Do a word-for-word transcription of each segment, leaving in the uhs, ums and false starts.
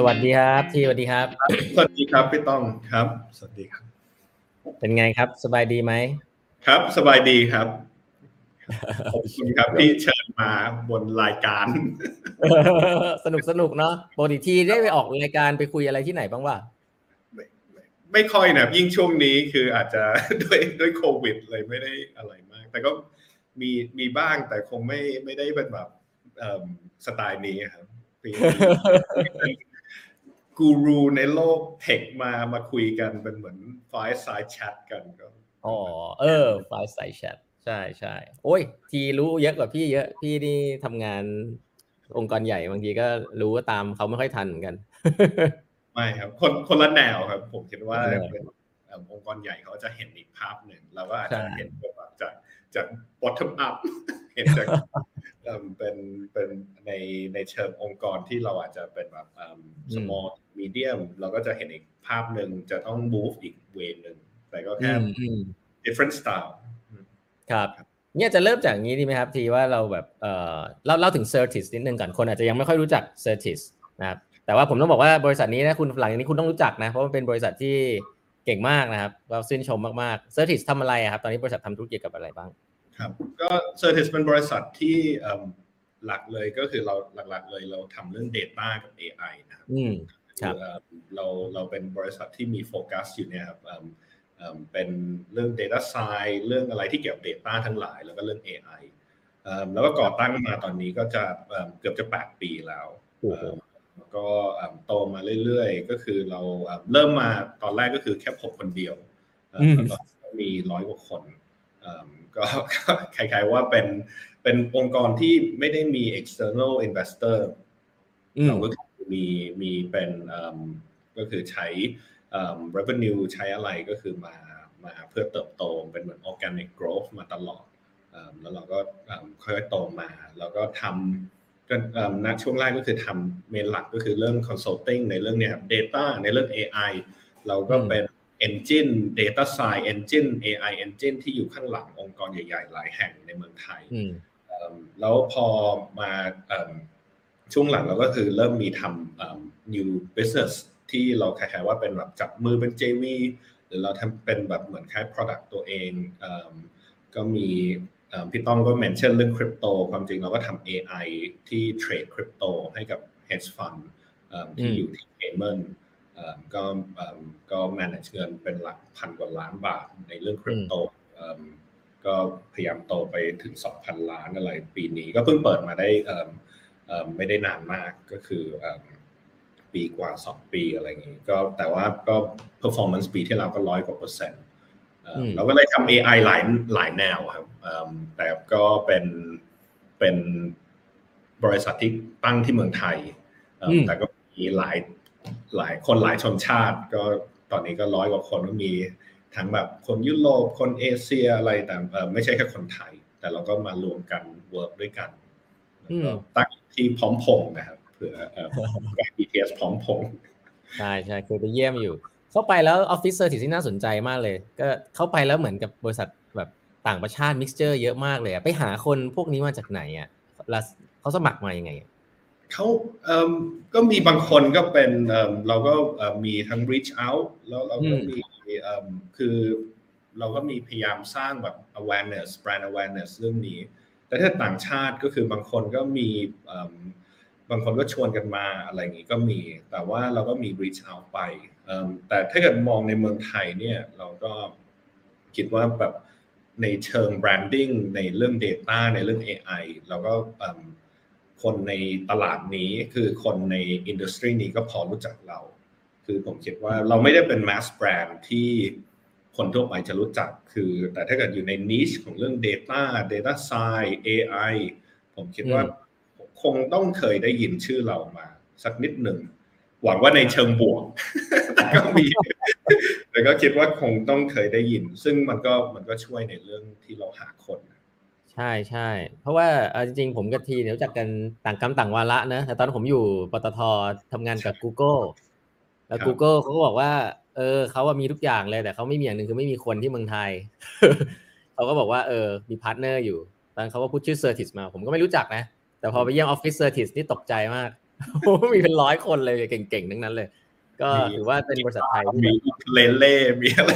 วัสดีครับทีสวัสดีครับสวัสดีครับพี่ต้องครับสวัสดีครับเป็นไงครับสบายดีไหมครับสบายดีครับขอบคุณครับที่เชิญมาบนรายการสนุกสนุกเนาะปกติทีได้ไปออกรายการไปคุยอะไรที่ไหนบ้างวะไม่ไม่ไม่ค่อยนะยิ่งช่วงนี้คืออาจจะด้วยด้วยโควิดเลยไม่ได้อะไรมากแต่ก็มีมีบ้างแต่คงไม่ไม่ได้เป็นแบบสไตล์นี้ครับมีกูรูในโลกเทคมามาคุยกันเป็นเหมือน Fireside Chat กันก็อ๋อเออไฟล์สายแชทใช่ใช่โอ้ยทีรู้เยอะกว่าพี่เยอะพี่นี่ทำงานองค์กรใหญ่บางทีก็รู้ว่าตามเขาไม่ค่อยทันเหมือนกันไม่ครับคนคนละแนวครับผมคิดว่าเป็นองค์กรใหญ่เขาจะเห็นอีกภาพหนึ่งเราก็อาจจะเห็นแบบจากจาก bottom up เห็นจากเป็นเป็นในในเชิงองค์กรที่เราอาจจะเป็นแบบ small medium เราก็จะเห็นอีกภาพหนึ่งจะต้อง move อีกเวย์หนึ่งแต่ก็แค่ different style ครับเนี่ยจะเริ่มจากงี้ดีไหมครับทีว่าเราแบบเออเล่าเล่าถึง Certis นิดนึงก่อนคนอาจจะยังไม่ค่อยรู้จัก Certis นะครับแต่ว่าผมต้องบอกว่าบริษัทนี้นะคุณหลังจากนี้คุณต้องรู้จักนะเพราะมันเป็นบริษัทที่เก่งมากนะครับเราชื่นชมมากๆ Certis ทำอะไรครับตอนนี้บริษัททำธุรกิจกับอะไรบ้างครับก็ Certis เป็นบริษัทที่หลักเลยก็คือเราหลักๆเลยเราทำเรื่อง data กับ เอ ไอ นะครับอืมครับเราเราเป็นบริษัทที่มีโฟกัสอยู่เนี่ยครับเป็นเรื่อง data science เรื่องอะไรที่เกี่ยวกับ data ทั้งหลายแล้วก็เรื่อง เอ ไอ แล้วก็ก่อตั้งมาตอนนี้ก็จะเกือบจะแปดปีแล้วแล้วก็โตมาเรื่อยๆก็คือเราเริ่มมาตอนแรกก็คือแค่ผมคนเดียวแล้วก็มีร้อยกว่าคนก็คล้ายๆว่าเป็นเป็นองค์กรที่ไม่ได้มี external investor เราก็มีมีเป็นก็คือใช้ revenue ใช้อะไรก็คือมามาเพื่อเติบโตเป็นเหมือน organic growth มาตลอดแล้วเราก็ค่อยๆโตมาแล้วก็ทำก็ณช่วงแรกก็คือทำเมนหลักก็คือเรื่อง consulting ในเรื่องเนี้ย data ในเรื่อง เอ ไอ เราก็เป็น engine data science engine เอ ไอ engine ที่อยู่ข้างหลังองค์กรใหญ่ๆหลายแห่งในเมืองไทยแล้วพอมาช่วงหลังเราก็คือเริ่มมีทำ new business ที่เราคล้ายๆว่าเป็นแบบจับมือเป็น เจ วี หรือเราทำเป็นแบบเหมือนคล้าย product ตัวเองก็มีพี่ต้องก็เมนชั่นเรื่องคริปโตความจริงเราก็ทำ เอ ไอ ที่เทรดคริปโตให้กับ hedge fund ที่อยู่ที่ Cayman ก็ก็ manage เงินเป็นหลักพันกว่าล้านบาทในเรื่องคริปโตก็พยายามโตไปถึง สองพัน ล้านอะไรปีนี้ก็เพิ่งเปิดมาได้ไม่ได้นานมากก็คือปีกว่าสองปีอะไรอย่างงี้ก็แต่ว่าก็ performance ปีที่แล้วก็ร้อยกว่าเปอร์เซ็นต์เราก็เลยทำ เอ ไอ หลายหลายแนวครับแต่ก็เป็นเป็นบริษัทที่ตั้งที่เมืองไทยแต่ก็มีหลายหลายคนหลายชนชาติก็ตอนนี้ก็ร้อยกว่าคนก็มีทั้งแบบคนยุโรปคนเอเชียอะไรแต่ไม่ใช่แค่คนไทยแต่เราก็มารวมกันเวิร์กด้วยกันตั้งที่พร้อมพงษ์นะครับเผื่อแก บี ที เอส พร้อมพงษ์ใช่ใช่เคยไปเยี่ยมอยู่เข้าไปแล้วออฟฟิศเซอร์วิสที่น่าสนใจมากเลยก็เข้าไปแล้วเหมือนกับบริษัทแบบต่างประเทศมิกซ์เจอร์เยอะมากเลยอ่ะไปหาคนพวกนี้มาจากไหนอ่ะแล้วเขาสมัครมายังไงเขาเอ่อก็มีบางคนก็เป็นเอ่อเราก็มีทั้ง reach out แล้วเราก็มีเอ่อคือเราก็มีพยายามสร้างแบบ awareness brand awareness เรื่องนี้แต่ถ้าต่างชาติก็คือบางคนก็มีเอ่อบางคนก็ชวนกันมาอะไรอย่างงี้ก็มีแต่ว่าเราก็มี reach out ไปเอ่อแต่ถ้าเกิดมองในเมืองไทยเนี่ยเราก็คิดว่าแบบในเชิง branding ในเรื่อง data ในเรื่อง เอ ไอ เราก็คนในตลาดนี้คือคนในอินดัสทรีนี้ก็พอรู้จักเราคือผมคิดว่าเราไม่ได้เป็น mass brand ที่คนทั่วไปจะรู้จักคือแต่ถ้าเกิดอยู่ใน niche ของเรื่อง data data science เอ ไอ ผมคิดว่าคงต้องเคยได้ยินชื่อเรามาสักนิดหนึ่งหวังว่าในเชิงบวกแต่ก็มีแต่ก็คิดว่าคงต้องเคยได้ยินซึ่งมันก็มันก็ช่วยในเรื่องที่เราหาคนใช่ใช่เพราะว่าจริงๆผมกับทีเนี่ยรู้จักกันต่างกรรมต่างวาระนะแต่ตอนผมอยู่ปตททำงานกับ Google แล้ว Google เขาก็บอกว่าเออเขาว่ามีทุกอย่างเลยแต่เขาไม่มีอย่างนึงคือไม่มีคนที่เมืองไทย เขาก็บอกว่าเออมีพาร์ทเนอร์อยู่ตอนเขาก็พูดชื่อ Certis มาผมก็ไม่รู้จักนะแต่พอไปเยี่ยมออฟฟิศ Certis นี่ตกใจมากโอ้มีเป็นร้อยคนเลยเก่งๆทั้งนั้นเลยก็ถือว่าเป็นบริษัทไทยที่มีเลเล่มีอะไร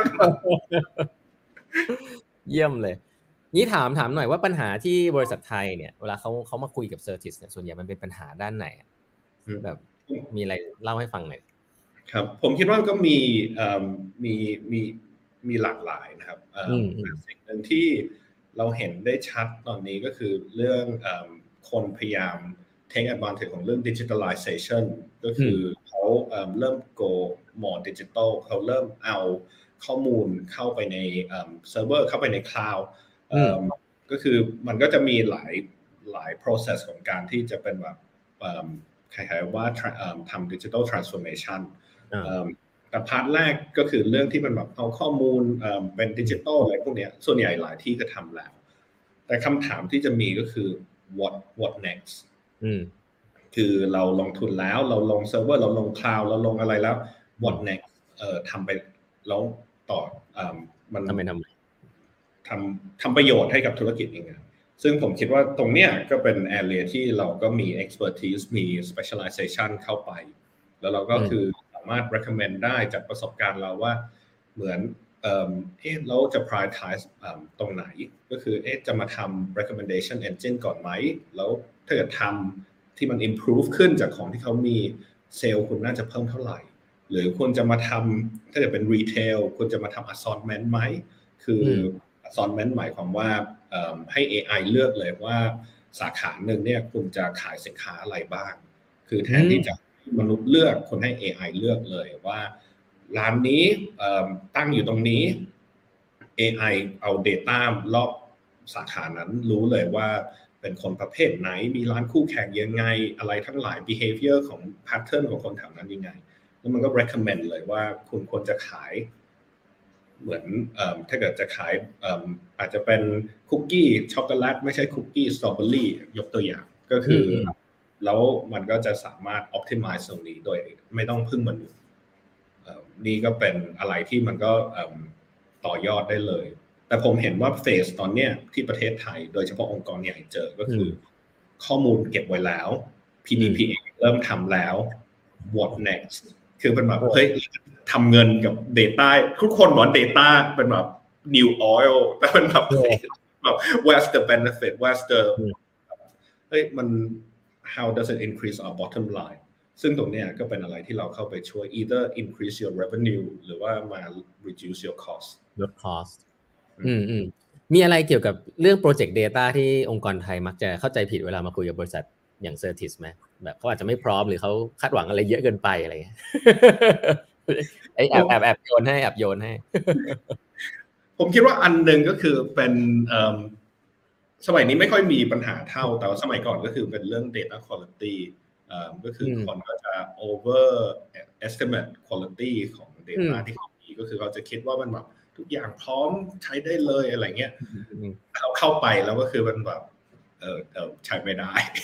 เยี่ยมเลยนี่ถามถามหน่อยว่าปัญหาที่บริษัทไทยเนี่ยเวลาเขาเขามาคุยกับเซอร์ทิสเนี่ยส่วนใหญ่มันเป็นปัญหาด้านไหนแบบมีอะไรเล่าให้ฟังหน่อยครับผมคิดว่าก็มีมีมีมีหลากหลายนะครับสิ่งหนึ่งที่เราเห็นได้ชัดตอนนี้ก็คือเรื่องคนพยายาม take advantage ของเรื่อง digitalization ก็คือเขาเริ่ม go more digital เขาเริ่มเอาข้อมูลเข้าไปในเซิร์ฟเวอร์เข้าไปใน cloud ก็คือมันก็จะมีหลายหลาย process ของการที่จะเป็นแบบคล้ายๆว่าทำ digital transformation แต่พาร์ทแรกก็คือเรื่องที่มันแบบเอาข้อมูลเป็นดิจิตอลอะไรพวกนี้ส่วนใหญ่หลายที่ก็ทำแล้วแต่คำถามที่จะมีก็คือ what what next คือเราลงทุนแล้วเราลงเซิร์ฟเวอร์เราลงคลาวด์เราลงอะไรแล้ว what next เอ่อทำไปแล้วต่อมันทำไปทำทำทำประโยชน์ให้กับธุรกิจยังไงซึ่งผมคิดว่าตรงเนี้ยก็เป็น area ที่เราก็มี expertise มี specialization เข้าไปแล้วเราก็คือสามารถ recommend ได้จากประสบการณ์เราว่าเหมือนเอ่อเอ๊ะเราจะ prioritize ตรงไหนก็คือเอ๊ะจะมาทำ recommendation engine ก่อนไหมแล้วถ้าเกิดทำที่มัน improve ขึ้นจากของที่เขามีเซลล์คุณน่าจะเพิ่มเท่าไหร่หรือคุณจะมาทำถ้าเกิดเป็น retail คุณจะมาทำ assortment ไหมคือ assortment หมายความว่าให้ เอ ไอ เลือกเลยว่าสาขาหนึ่งเนี่ยคุณจะขายสินค้าอะไรบ้างคือแทนที่จะมนุษย์เลือกคนให้ เอ ไอ เลือกเลยว่าร้านนี้ตั้งอยู่ตรงนี้ เอ ไอ เอา data รอบสาขานั้นรู้เลยว่าเป็นคนประเภทไหนมีร้านคู่แข่งยังไงอะไรทั้งหลาย behavior ของ pattern ของคนแถวนั้นยังไงแล้วมันก็ recommend เลยว่าคุณควรจะขายเหมือนถ้าเกิดจะขายอาจจะเป็นคุกกี้ช็อกโกแลตไม่ใช่คุกกี้สตรอเบอรี่ยกตัวอย่างก็คือแล้วมันก็จะสามารถ optimize ตรงนี้โดยไม่ต้องพึ่งมนุษย์นี่ก็เป็นอะไรที่มันก็ต่อยอดได้เลยแต่ผมเห็นว่าเฟสตอนเนี้ยที่ประเทศไทยโดยเฉพาะองค์กรใหญ่เจอก็คือข้อมูลเก็บไว้แล้ว พี ดี พี เอ เริ่มทำแล้ว what next คือเป็นแบบเฮ้ยทำเงินกับ data ทุกคนบอก data เป็นแบบ new oil แต่เป็นแบบแบบ where's the benefit where's the เฮ้ยมัน how does it increase our bottom line ซึ่งตรงเนี้ยก็เป็นอะไรที่เราเข้าไปช่วย either increase your revenue หรือว่ามา reduce your cost ลด cost อืมอืมมีอะไรเกี่ยวกับเรื่อง project data ที่องค์กรไทยมักจะเข้าใจผิดเวลามาคุยกับบริษัทอย่าง Certis ไหมแบบเขาอาจจะไม่พร้อมหรือเขาคาดหวังอะไรเยอะเกินไปอะไรเงี้ยไอ้แอบแอบแอบโยนให้แอบโยนให้ผมคิดว่าอันหนึ่งก็คือเป็นสมัยนี้ไม่ค่อยมีปัญหาเท่าแต่สมัยก่อนก็คือเป็นเรื่อง data quality ก็คือคนก็จะ over estimate quality ของ data ที่เขามีก็คือเขาจะคิดว่ามันแบบทุกอย่างพร้อมใช้ได้เลยอะไรเงี้ยเขาเข้าไปแล้วก็คือมันแบบเออเออใช้ไม่ได้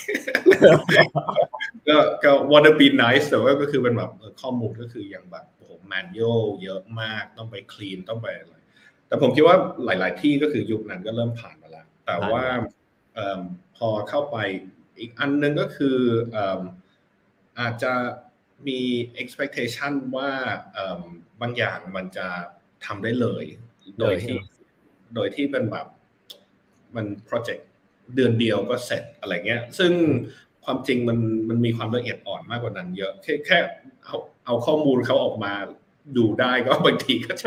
ก็ก็ wanna be nice แต่ว่าก็คือเป็นแบบข้อมูลก็คืออย่างแบบโอ้โห manual เยอะมากต้องไป clean ต้องไปอะไรแต่ผมคิดว่าหลายๆที่ก็คือยุคนั้นก็เริ่มผ่านมาแล้วแต่ว่าพอเข้าไปอีกอันนึงก็คืออาจจะมี expectation ว่าบางอย่างมันจะทำได้เลยโดยที่โดยที่เป็นแบบมันโปรเจกต์เดือนเดียวก็เสร็จอะไรเงี้ยซึ่งความจริงมันมันมีความละเอียดอ่อนมากกว่านั้นเยอะแค่แค่เอาเอาข้อมูลเขาออกมาดูได้ก็บางทีก็ใช่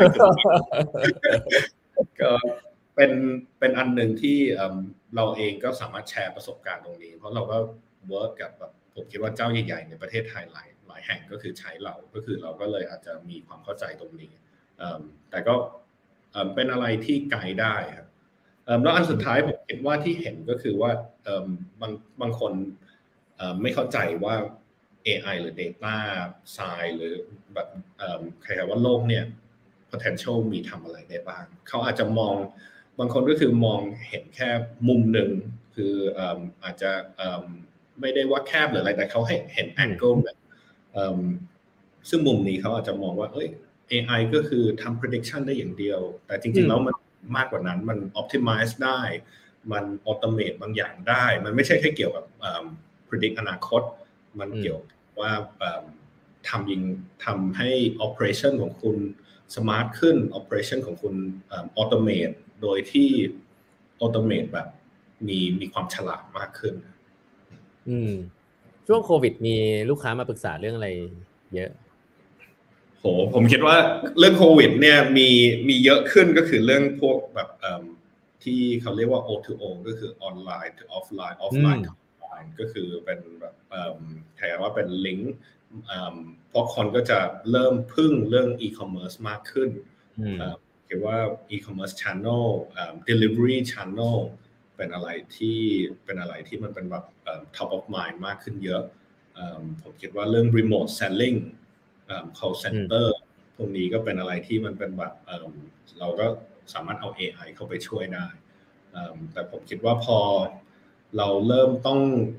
ก็เป็นเป็นอันหนึ่งที่เราเองก็สามารถแชร์ประสบการณ์ตรงนี้เพราะเราก็เวิร์กกับแบบผมคิดว่าเจ้าใหญ่ๆในประเทศไทยหลายหลายแห่งก็คือใช้เราก็คือเราก็เลยอาจจะมีความเข้าใจตรงนี้แต่ก็เป็นอะไรที่ไกลได้ครับแล้วอันสุดท้ายผมคิดว่าที่เห็นก็คือว่าบางบางคนไม่เข้าใจว่า เอ ไอ หรือ data science หรือแบบใครว่าโลกเนี่ย potential มีทำอะไรได้บ้างเขาอาจจะมองบางคนก็คือมองเห็นแค่มุมหนึ่งคืออาจจะไม่ได้ว่าแคบหรืออะไรแต่เขาให้เห็น angle แบบซึ่งมุมนี้เขาอาจจะมองว่าเอ้ย เอ ไอ ก็คือทำ prediction ได้อย่างเดียวแต่จริงๆแล้วมันมากกว่านั้นมัน optimize ได้มัน automate บางอย่างได้มันไม่ใช่แค่เกี่ยวกับ predict อนาคตมันเกี่ยวว่าทำยิงทำให้ operation ของคุณ smart ขึ้น operation ของคุณ automate โดยที่ automate แบบมีมีความฉลาดมากขึ้นอืมช่วงโควิดมีลูกค้ามาปรึกษาเรื่องอะไรเยอะโหผมคิดว่าเรื่องโควิดเนี่ยมีมีเยอะขึ้นก็คือเรื่องพวกแบบที่เขาเรียกว่า โอ ทู โอ ก็คือ online to offline offline to online ก็คือเป็นแบบแทนว่าเป็นลิงก์เพราะคนก็จะเริ่มพึ่งเรื่อง e-commerce มากขึ้นคิดว่า e-commerce channel delivery channel เป็นอะไรที่เป็นอะไรที่มันเป็นแบบ top of mind มากขึ้นเยอะผมคิดว่าเรื่อง remote selling call center พวกนี้ก็เป็นอะไรที่มันเป็นแบบเราก็สามารถเอา เอ ไอ เข้าไปช่วยได้แต่ผมคิดว่าพอเราเริ่มต้อง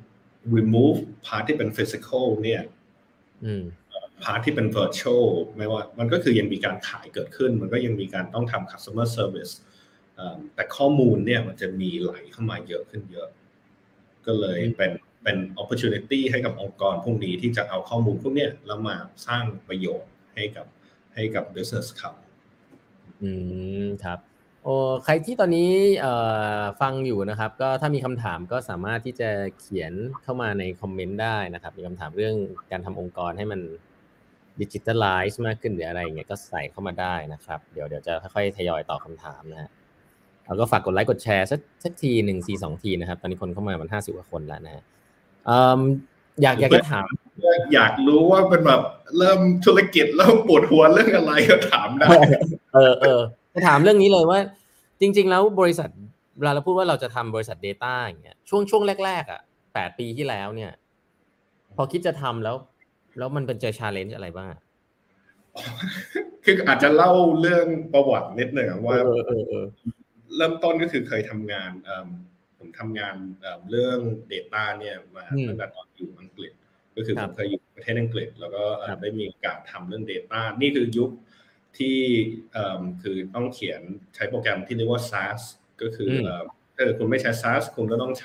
remove part ที่เป็น physical เนี่ยพาร์ทที่เป็น virtual ไม่ว่ามันก็คือยังมีการขายเกิดขึ้นมันก็ยังมีการต้องทำ customer service แต่ข้อมูลเนี่ยมันจะมีไหลเข้ามาเยอะขึ้นเยอะก็เลยเป็นเป็น opportunity ให้กับองค์กรพวกนี้ที่จะเอาข้อมูลพวกนี้แล้วมาสร้างประโยชน์ให้กับให้กับ business เขาอืมครับโอ้ใครที่ตอนนี้เอ่อฟังอยู่นะครับก็ถ้ามีคำถามก็สามารถที่จะเขียนเข้ามาในคอมเมนต์ได้นะครับมีคำถามเรื่องการทำองค์กรให้มันดิจิทัลไลซ์มากขึ้นหรืออะไรอย่างเงี้ยก็ใส่เข้ามาได้นะครับเดี๋ยวเดี๋ยวจะค่อยๆทยอยตอบคำถามนะฮะแล้วก็ฝากกดไลค์กดแชร์สักสักทีหนึ่งทีสองทีนะครับตอนนี้คนเข้ามามันห้าสิบกว่าคนแล้วนะฮะอยากอยากจะถามอยากรู้ว่าเป็นแบบเริ่มธุรกิจเริ่มปวดหัวเรื่องอะไรก็ถามได้เออเออจะถามเรื่องนี้เลยว่าจริงๆแล้วบริษัทเวลาเราพูดว่าเราจะทำบริษัท data อย่างเงี้ยช่วงช่วงแรกๆอ่ะแปดปีที่แล้วเนี่ยพอคิดจะทำแล้วแล้วมันเป็นเจอ challenge อะไรบ้างคืออาจจะเล่าเรื่องประวัตินิดหนึ่งว่าเริ่มต้นก็คือเคยทำงานผมทำงานเรื่อง data เนี่ยมาตั้งแต่ตอนอยู่อังกฤษก็คือผมเคยอยู่ประเทศอังกฤษแล้วก็ได้มีโอกาสทำเรื่อง data นี่คือยุคที่คือต้องเขียนใช้โปรแกรมที่เรียกว่า SAS ก็คือถ้าคุณไม่ใช้ SAS คุณก็ต้องใช้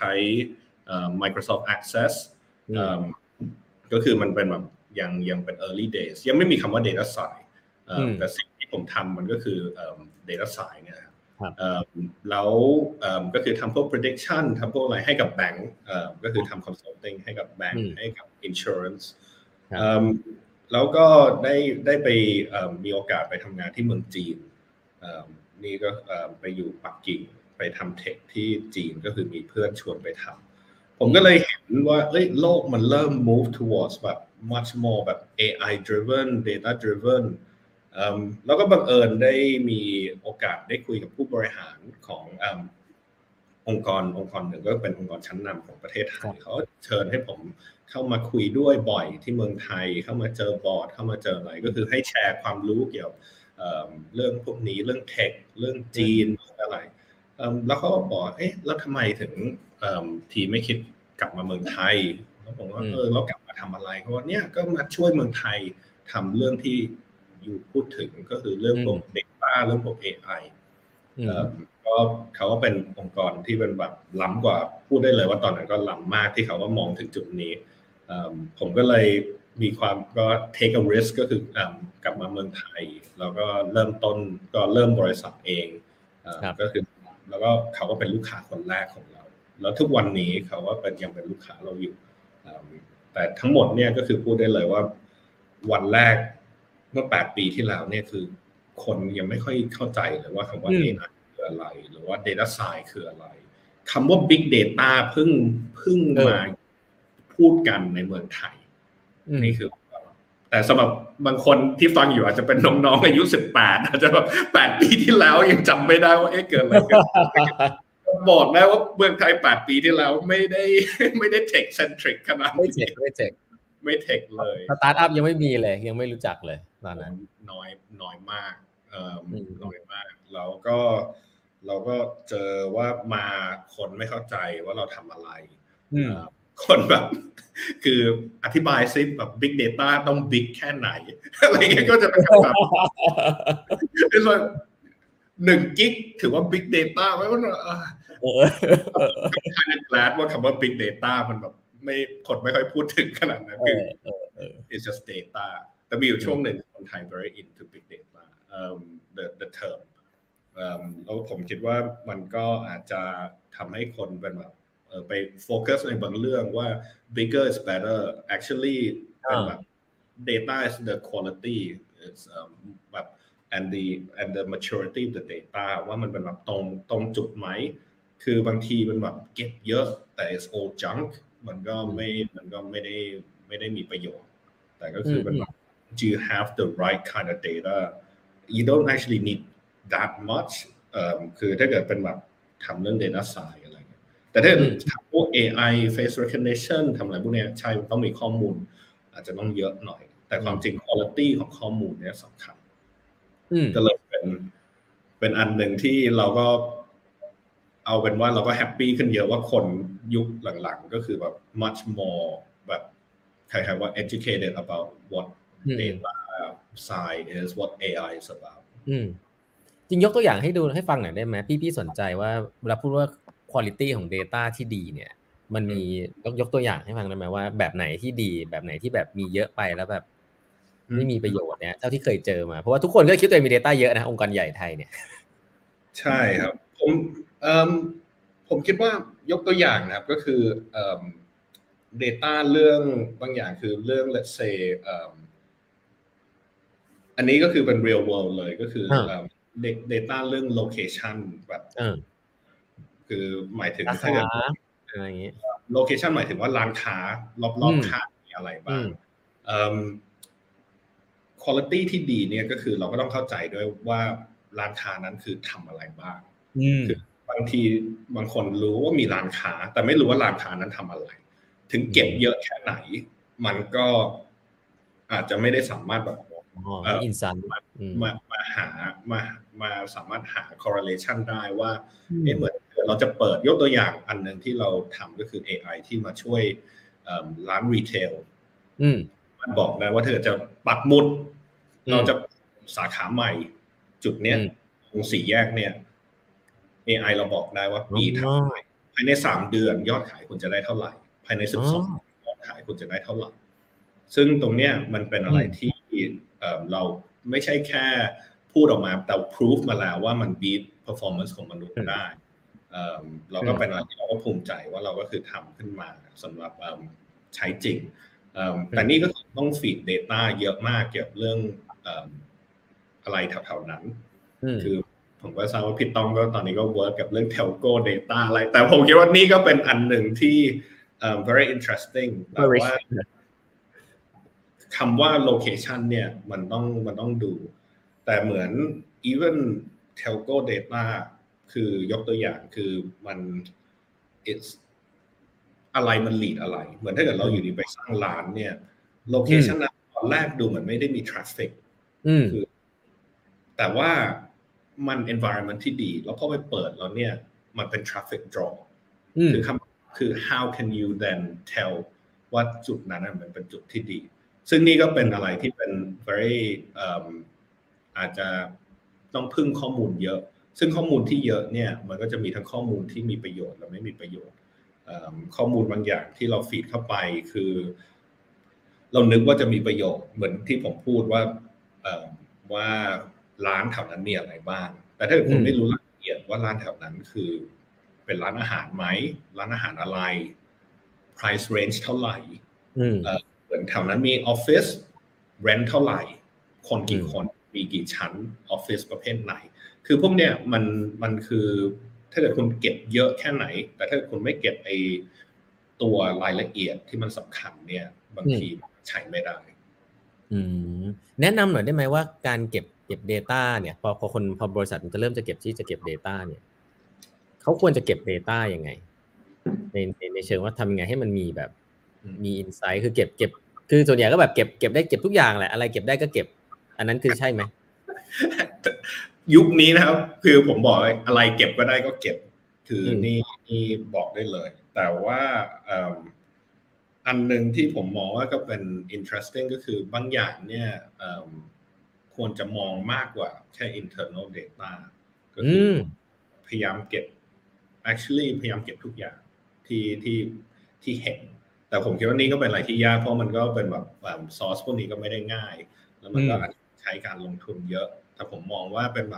Microsoft Access ก็คือมันเป็นแบบยังยังเป็น early days ยังไม่มีคำว่า data science แต่สิ่งที่ผมทำมันก็คือ data science เนี่ยแล้วก็คือทำพวก prediction ทำพวกอะไรให้กับแบงก์ก็คือทำ consulting ให้กับแบงก์ให้กับ insurance แล้วก็ได้ได้ไปมีโอกาสไปทำงานที่เมืองจีนนี่ก็ไปอยู่ปักกิ่งไปทำเทคที่จีนก็คือมีเพื่อนชวนไปทำผมก็เลยเห็นว่าเอ้ยโลกมันเริ่ม move towards แบบ much more แบบ เอ ไอ driven data drivenแล้วก็บังเอิญได้มีโอกาสได้คุยกับผู้บริหารขององค์กรองค์กรหนึ่งก็เป็นองค์กรชั้นนำของประเทศไทยเขาเชิญให้ผมเข้ามาคุยด้วยบ่อยที่เมืองไทยเข้ามาเจอบอร์ดเข้ามาเจออะไรก็คือให้แชร์ความรู้เกี่ยวกับเรื่องพวกนี้เรื่องเทคเรื่องจีนอะไรแล้วเขาก็บอกเอ๊ะแล้วทำไมถึงทีไม่คิดกลับมาเมืองไทยแล้วผมว่าเออเรากลับมาทำอะไรเขาว่าเนี่ยก็มาช่วยเมืองไทยทำเรื่องที่อยู่พูดถึงก็คือเรื่องพวก data เรื่องพวก เอ ไอ ก็เขาก็เป็นองค์กรที่เป็นแบบล้ำกว่าพูดได้เลยว่าตอนนั้นก็ล้ำมากที่เขาก็มองถึงจุดนี้ผมก็เลยมีความก็ take a risk ก็คือกลับมาเมืองไทยแล้วก็เริ่มต้นก็เริ่มบริษัทเองก็คือแล้วก็เขาก็เป็นลูกค้าคนแรกของเราแล้วทุกวันนี้เขาก็เป็นยังเป็นลูกค้าเราอยู่แต่ทั้งหมดเนี่ยก็คือพูดได้เลยว่าวันแรกเมื่อแปดปีที่แล้วเนี่ยคือคนยังไม่ค่อยเข้าใจเลยว่าคำว่า เอ ไอ คืออะไรหรือว่า data science คืออะไรคำว่า big data เพิ่งเพิ่งมาพูดกันในเมืองไทยนี่คือแต่สำหรับบางคนที่ฟังอยู่อาจจะเป็นน้องๆอายุสิบแปดอาจจะแบบแปดปีที่แล้วยังจำไม่ได้ว่าเอ๊ะเกิดอะไรขึ้นบอกได้ว่าเมืองไทยแปดปีที่แล้วไม่ได้ไม่ได้ tech centric ขนาดไม่เทคไม่เทคไม่เทคเลยสตาร์ทอัพยังไม่มีเลยยังไม่รู้จักเลยตอนนั้นน้อยน้อยมากเอ่อน้อยมากแล้วก็เราก็เจอว่ามาคนไม่เข้าใจว่าเราทำอะไรคนแบบคืออธิบายซิแบบ big data ต้อง big แค่ไหนอะไรเงี้ยก็จะเป็นแบบเป็นว่าหนึ่งกิกถือว่า big data ไหมว่าเออkind of glad ว่าคำว่า big data มันแบบไม่คนไม่ค่อยพูดถึงขนาดนั้นคือ it's just data แต่มีอยู่ช่วงหนึ่งคนไทย very into big data um, the the term um, แล้วผมคิดว่ามันก็อาจจะทำให้คนเป็นแบบไปโฟกัสในบางเรื่องว่า bigger is better actually เป็นแบบ data is the quality is um, แบบ and the and the maturity of the data ว่ามันเป็นแบบตรงตรงจุดไหมคือบางทีมันแบบเก็บเยอะแต่ it's all junk มันก็ไม่มันก็ไม่ได้ไม่ได้มีประโยชน์แต่ก็คือมันแบบ do you have the right kind of data you don't actually need that much เอ่อคือถ้าเกิดเป็นแบบทำเรื่อง data science อะไรเงี้ยแต่ถ้าทำพวก เอ ไอ face recognition ทำอะไรพวกนี้ใช่ต้องมีข้อมูลอาจจะต้องเยอะหน่อยแต่ความจริง quality ของข้อมูลเนี่ยสำคัญก็เลยเป็นเป็นอันหนึ่งที่เราก็เอาเป็นว่าเราก็แฮปปี้ขึ้นเยอะว่าคนยุคหลังๆก็คือแบบ much more แบบใครๆว่า educated about what data science is what เอ ไอ is about จริงยกตัวอย่างให้ดูให้ฟังหน่อยได้ไหมพี่พี่สนใจว่าเวลาพูดว่า quality ของ data ที่ดีเนี่ยมันมียกยกตัวอย่างให้ฟังได้ไหมว่าแบบไหนที่ดีแบบไหนที่แบบมีเยอะไปแล้วแบบไม่มีประโยชน์เนี่ยเท่าที่เคยเจอมาเพราะว่าทุกคนก็คิดตัวเองมี data เยอะนะองค์กรใหญ่ไทยเนี่ยใช่ครับผมเอ่อผมคิดว่ายกตัวอย่างนะครับก็คือเอ่อ data เรื่องบางอย่างคือเรื่อง let's say เอ่ออันนี้ก็คือเป็น real world เลยก็คือเอ่อ data เรื่อง location แบบคือหมายถึงถ้าเกิดอะไรอย่างงี้ location หมายถึงว่าร้านค้ารอบๆข้างมีอะไรบ้างเอ่อ quality ที่ดีเนี่ยก็คือเราก็ต้องเข้าใจด้วยว่าร้านค้านั้นคือทำอะไรบ้างคือบางทีบางคนรู้ว่ามีร้านค้าแต่ไม่รู้ว่าร้านค้านั้นทำอะไรถึงเก็บเยอะแค่ไหนมันก็อาจจะไม่ได้สามารถแบบเอ่ออินไซต์มามาหามามาสามารถหา correlation ได้ว่าเอ๊ะเหมือนเราจะเปิดยกตัวอย่างอันนึงที่เราทำก็คือ เอ ไอ ที่มาช่วยร้านรีเทลมันบอกได้ว่าเธอจะปักหมุดเราจะสาขาใหม่จุดเนี้ยตรงสี่แยกเนี่ย เอ ไอ เราบอกได้ว่าปีถัดไปภายในสามเดือนยอดขายคุณจะได้เท่าไหร่ภายในสิบสองยอดขายคุณจะได้เท่าไหร่ซึ่งตรงเนี้ยมันเป็นอะไรที่เอ่อเราไม่ใช่แค่พูดออกมาแต่ proof มาแล้วว่ามัน beat performance ของมนุษย์ได้เอ่อเราก็เป็นอะไรที่เราก็ภูมิใจว่าเราก็คือทำขึ้นมาสำหรับใช้จริงแต่นี่ก็ต้อง feed data เยอะมากเกี่ยวกับเรื่องอะไรแถวๆนั้นคือผมก็ทราบว่าพี่ต้องก็ตอนนี้ก็ work กับเรื่อง telco data อะไรแต่ผมคิดว่านี่ก็เป็นอันหนึ่งที่ very interesting แต่ว่าคำว่า location เนี่ยมันต้องมันต้องดูแต่เหมือน even telco data คือยกตัวอย่างคือมัน it's อะไรมัน lead อะไรเหมือนถ้าเกิดเราอยู่ดีไปสร้างร้านเนี่ย location นั้นตอนแรกดูเหมือนไม่ได้มี traffic คือแต่ว่ามัน environment ที่ดีแล้วพอไปเปิดแล้วเนี่ยมันเป็น traffic draw คือคำคือ how can you then tell ว่าจุดนั้นมันเป็นจุดที่ดีซึ่งนี่ก็เป็นอะไรที่เป็น very อาจจะต้องพึ่งข้อมูลเยอะซึ่งข้อมูลที่เยอะเนี่ยมันก็จะมีทั้งข้อมูลที่มีประโยชน์และไม่มีประโยชน์ข้อมูลบางอย่างที่เราฟีดเข้าไปคือเรานึกว่าจะมีประโยชน์เหมือนที่ผมพูดว่าว่าร้านแถวนั้นมีอะไรบ้างแต่ถ้าคุณไม่รู้รายละเอียดว่าร้านแถวนั้นคือเป็นร้านอาหารไหมร้านอาหารอะไร price range เท่าไหร่เหมือนแถวนั้นมีออฟฟิศ rent เท่าไหร่คนกี่คนมีกี่ชั้นออฟฟิศประเภทไหนคือพวกเนี้ยมันมันคือถ้าเกิดคุณเก็บเยอะแค่ไหนแต่ถ้าคุณไม่เก็บไอตัวรายละเอียดที่มันสำคัญเนี่ยบางทีใช้ไม่ได้แนะนำหน่อยได้ไหมว่าการเก็บเก็บ data เนี่ยพอพอคนพอบริษัทมันจะเริ่มจะเก็บที่จะเก็บ data เนี่ยเขาควรจะเก็บ data ยังไงในในในเชิงว่าทำยังไงให้มันมีแบบมี insight คือเก็บเก็บคือส่วนใหญ่ก็แบบเก็บเก็บได้เก็บทุกอย่างแหละอะไรเก็บได้ก็เก็บอันนั้นคือใช่ไหมยุคนี้นะครับคือผมบอกอะไรเก็บก็ได้ก็เก็บคือนี่นี่บอกได้เลยแต่ว่าอันหนึ่งที่ผมมองว่าก็เป็น interesting ก็คือบางอย่างเนี่ยควรจะมองมากกว่าแค่ internal data ก็คือพยายามเก็บ actually พยายามเก็บทุกอย่างที่ที่ที่เห็นแต่แต่ผมคิดว่านี่ก็เป็นอะไรที่ยากเพราะมันก็เป็นแบบซอสพวกนี้ก็ไม่ได้ง่ายแล้วมันก็ใช้การลงทุนเยอะแต่ผมมองว่าเป็นแบบ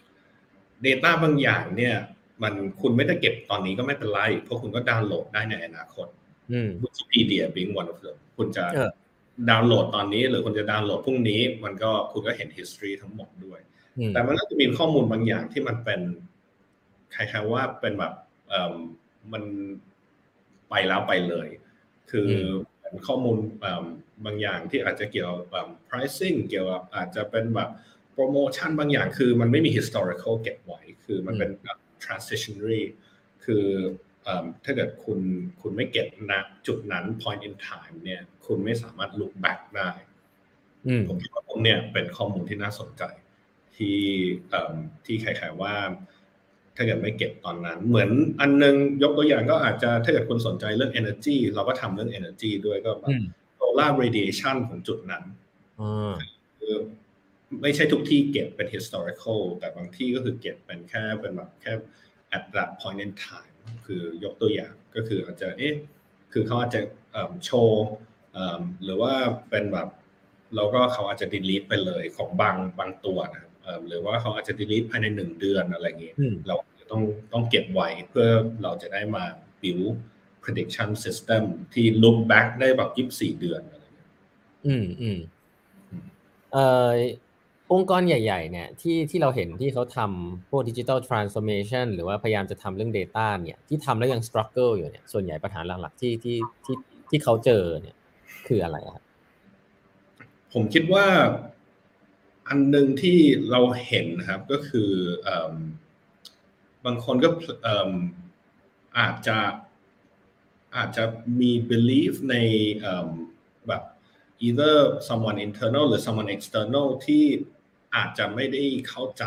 data บางอย่างเนี่ยมันคุณไม่ได้เก็บตอนนี้ก็ไม่เป็นไรเพราะคุณก็ดาวน์โหลดได้ในอนาคต Wikipedia being one of them คุณจะดาวน์โหลดตอนนี้หรือคุณจะดาวน์โหลดพรุ่งนี้มันก็คุณก็เห็น history ทั้งหมดด้วยแต่มันก็จะมีข้อมูลบางอย่างที่มันเป็นคล้ายๆว่าเป็นแบบเอ่อมันไปแล้วไปเลยคือข้อมูลบางอย่างที่อาจจะเกี่ยวกับ pricing เกี่ยวกับอาจจะเป็นแบบโปรโมชั่นบางอย่างคือมันไม่มี historical เก็บไว้คือมันเป็น transitionary คือถ้าเกิดคุณคุณไม่เก็บณจุดนั้น point in time เนี่ยคุณไม่สามารถ look back ได้ผมคิดว่าพวกเนี่ยเป็นข้อมูลที่น่าสนใจที่ที่คล้ายๆว่าถ้าเกิดไม่เก็บตอนนั้นเหมือนอันนึงยกตัวอย่างก็อาจจะถ้าเกิดคุณสนใจเรื่อง energy เราก็ทำเรื่อง energy ด้วยก็แบบ solar radiation ของจุดนั้นคือไม่ใช่ทุกที่เก็บเป็น historical แต่บางที่ก็คือเก็บเป็นแค่เป็นแบบแค่ at that point in time คือยกตัวอย่างก็คืออาจจะเอ๊ะคือเขาอาจจะโชว์หรือว่าเป็นแบบแล้วก็เขาอาจจะ delete ไปเลยของบางบางตัวนะหรือว่าเขาอาจจะ delete ภายในหนึ่งเดือนอะไรอย่างงี้เราต้องต้องเก็บไว้เพื่อเราจะได้มา build prediction system ที่ look back ได้แบบยี่สิบสี่เดือนอะไรอย่างเงี้ยอืมอืมเอ่อองค์กรใหญ่ๆเนี่ยที่ที่เราเห็นที่เขาทำพวก digital transformation หรือว่าพยายามจะทำเรื่อง data เนี่ยที่ทำแล้วยัง struggle อยู่เนี่ยส่วนใหญ่ปัญหาหลักๆที่ที่ที่ที่เขาเจอเนี่ยคืออะไรครับผมคิดว่าอันหนึ่งที่เราเห็นนะครับก็คือบางคนก็อาจจะอาจจะมี belief ในแบบ either someone internal หรือ someone external ที่อาจจะไม่ได้เข้าใจ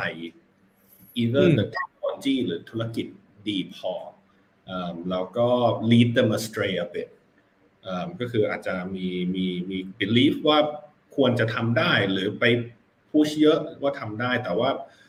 either the technology หรือธุรกิจดีพอแล้วก็ lead them astray a bit ก็คืออาจจะมีมีมี belief ว่าควรจะทำได้หรือไป push เยอะว่าทำได้แต่ว่า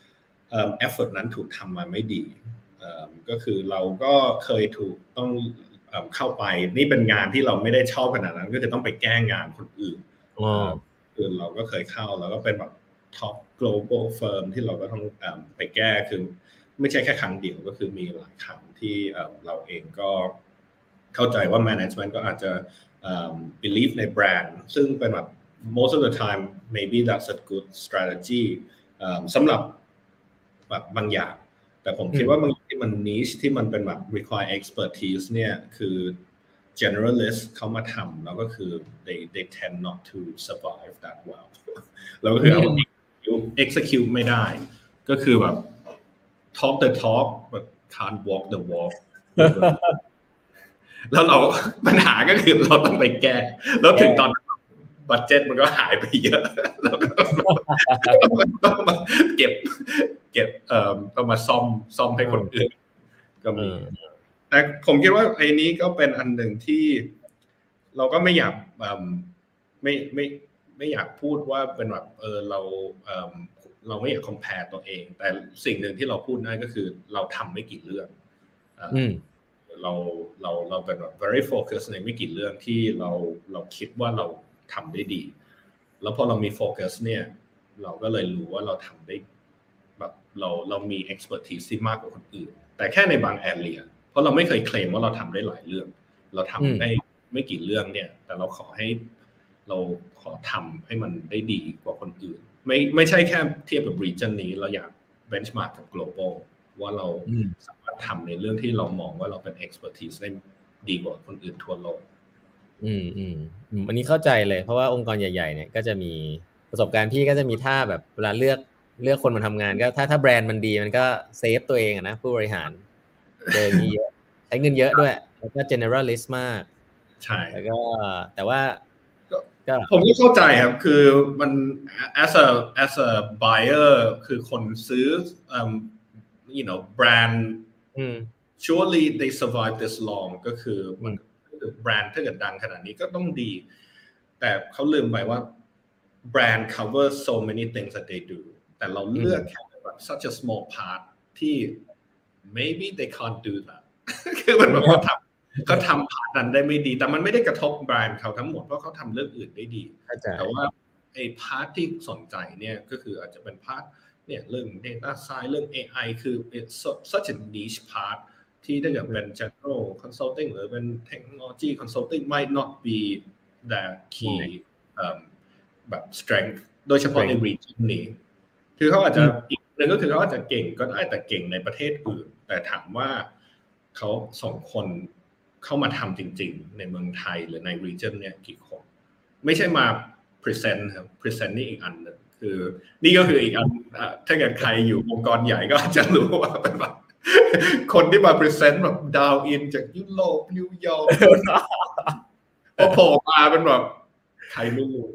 effort นั้นถูกทำมาไม่ดีก็คือเราก็เคยถูกต้องเข้าไปนี่เป็นงานที่เราไม่ได้ชอบขนาดนั้นก็คือต้องไปแก้งานคนอื่นคือเราก็เคยเข้าแล้วก็เป็นแบบ top global firm ที่เราก็ต้องไปแก้คือไม่ใช่แค่ครั้งเดียวก็คือมีหลายครั้งที่เราเองก็เข้าใจว่า management ก็อาจจะ believe ในแบรนด์ซึ่งเป็นแบบ most of the time maybe that's a good strategy สำหรับแบบบางอย่างแต่ผมคิดว่าบางที่มัน niche ที่มันเป็นแบบ require expertise เนี่ยคือ generalist เขามาทำแล้วก็คือ they they tend not to survive that well แล้วก็คือเอา execute ไม่ได้ก็คือแบบ talk the talk but can't walk the walk แล้วเราปัญหาก็คือเราต้องไปแก้แล้วถึงตอนบัดเจ็ตมันก็หายไปเยอะแล้วก็ต้องมาเก็บเก็บเอ่อต้องมาซ่อมซ่อมให้คนอื่นก็มีแต่ผมคิดว่าไอ้นี้ก็เป็นอันหนึ่งที่เราก็ไม่อยากไม่ไม่ไม่อยากพูดว่าเป็นแบบเออเราเอ่อเราไม่อยาก compare ตัวเองแต่สิ่งหนึ่งที่เราพูดได้ก็คือเราทำไม่กี่เรื่องเราเราเราเป็นแบบ very focus ในไม่กี่เรื่องที่เราเราคิดว่าเราทำได้ดีแล้วพอเรามีโฟกัสเนี่ยเราก็เลยรู้ว่าเราทำได้แบบเราเรามี expertise ที่มากกว่าคนอื่นแต่แค่ในบาง area เพราะเราไม่เคยเคลมว่าเราทำได้หลายเรื่องเราทำได้ไม่กี่เรื่องเนี่ยแต่เราขอให้เราขอทำให้มันได้ดีกว่าคนอื่นไม่ไม่ใช่แค่เทียบกับ region นี้เราอยาก benchmark กับ global ว่าเราสามารถทำในเรื่องที่เรามองว่าเราเป็น expertise ได้ดีกว่าคนอื่นทั่วโลกอืมอืมอันนี้เข้าใจเลยเพราะว่าองค์กรใหญ่ๆเนี่ยก็จะมีประสบการณ์พี่ก็จะมีท่าแบบเวลาเลือกเลือกคนมาทำงานก็ถ้าถ้าแบรนด์มันดีมันก็เซฟตัวเองอะนะผู้บริหารเจอนี้เยอะใช้เงินเยอะด้วยแล้วก็ generalist มากใช่แล้วก็แต่ว่าก็ผมก็เข้าใจครับคือมัน as a as a buyer คือคนซื้อ um, you know brand surely they survive this long ก็คือมันแบรนด์ถ้าเกิดดังขนาดนี้ก็ต้องดีแต่เขาลืมไปว่าแบรนด์ cover so many things that they do แต่เราเลือกแค่แบบ such a small part ที่ maybe they can't do that คือมันแบบเขาทเขาทำพาร์ทนั้นได้ไม่ดีแต่มันไม่ได้กระทบแบรนด์เขาทั้งหมดเพราะเขาทำเรื่องอื่นได้ดีแต่ว่าไอ้พาร์ทที่สนใจเนี่ยก็คืออาจจะเป็นพาร์ทเนี่ยเรื่อง data science เรื่อง เอ ไอ คือ it's such a niche part ที่ถ้าเกิดเป็น general consulting หรือเป็น technology consulting might not be the key แบบ strength โดยเฉพาะใน region นี้คือเขาอาจจะอีกหนึ่งก็คือเขาอาจจะเก่งก็ได้แต่เก่งในประเทศอื่นแต่ถามว่าเขาสองคนเข้ามาทำจริงๆในเมืองไทยหรือใน region เนี่ยกี่คนไม่ใช่มา present ครับ present นี่อีกอันนึงคือนี่ก็คืออีกอันถ้าเกิดใครอยู่องค์กรใหญ่ก็อาจจะรู้ว่าเป็นแบบคนที่มา present แบบดาวอินจากยุโรปนิวยอร์กพอโผล่มาเป็นแบบใครไม่รู้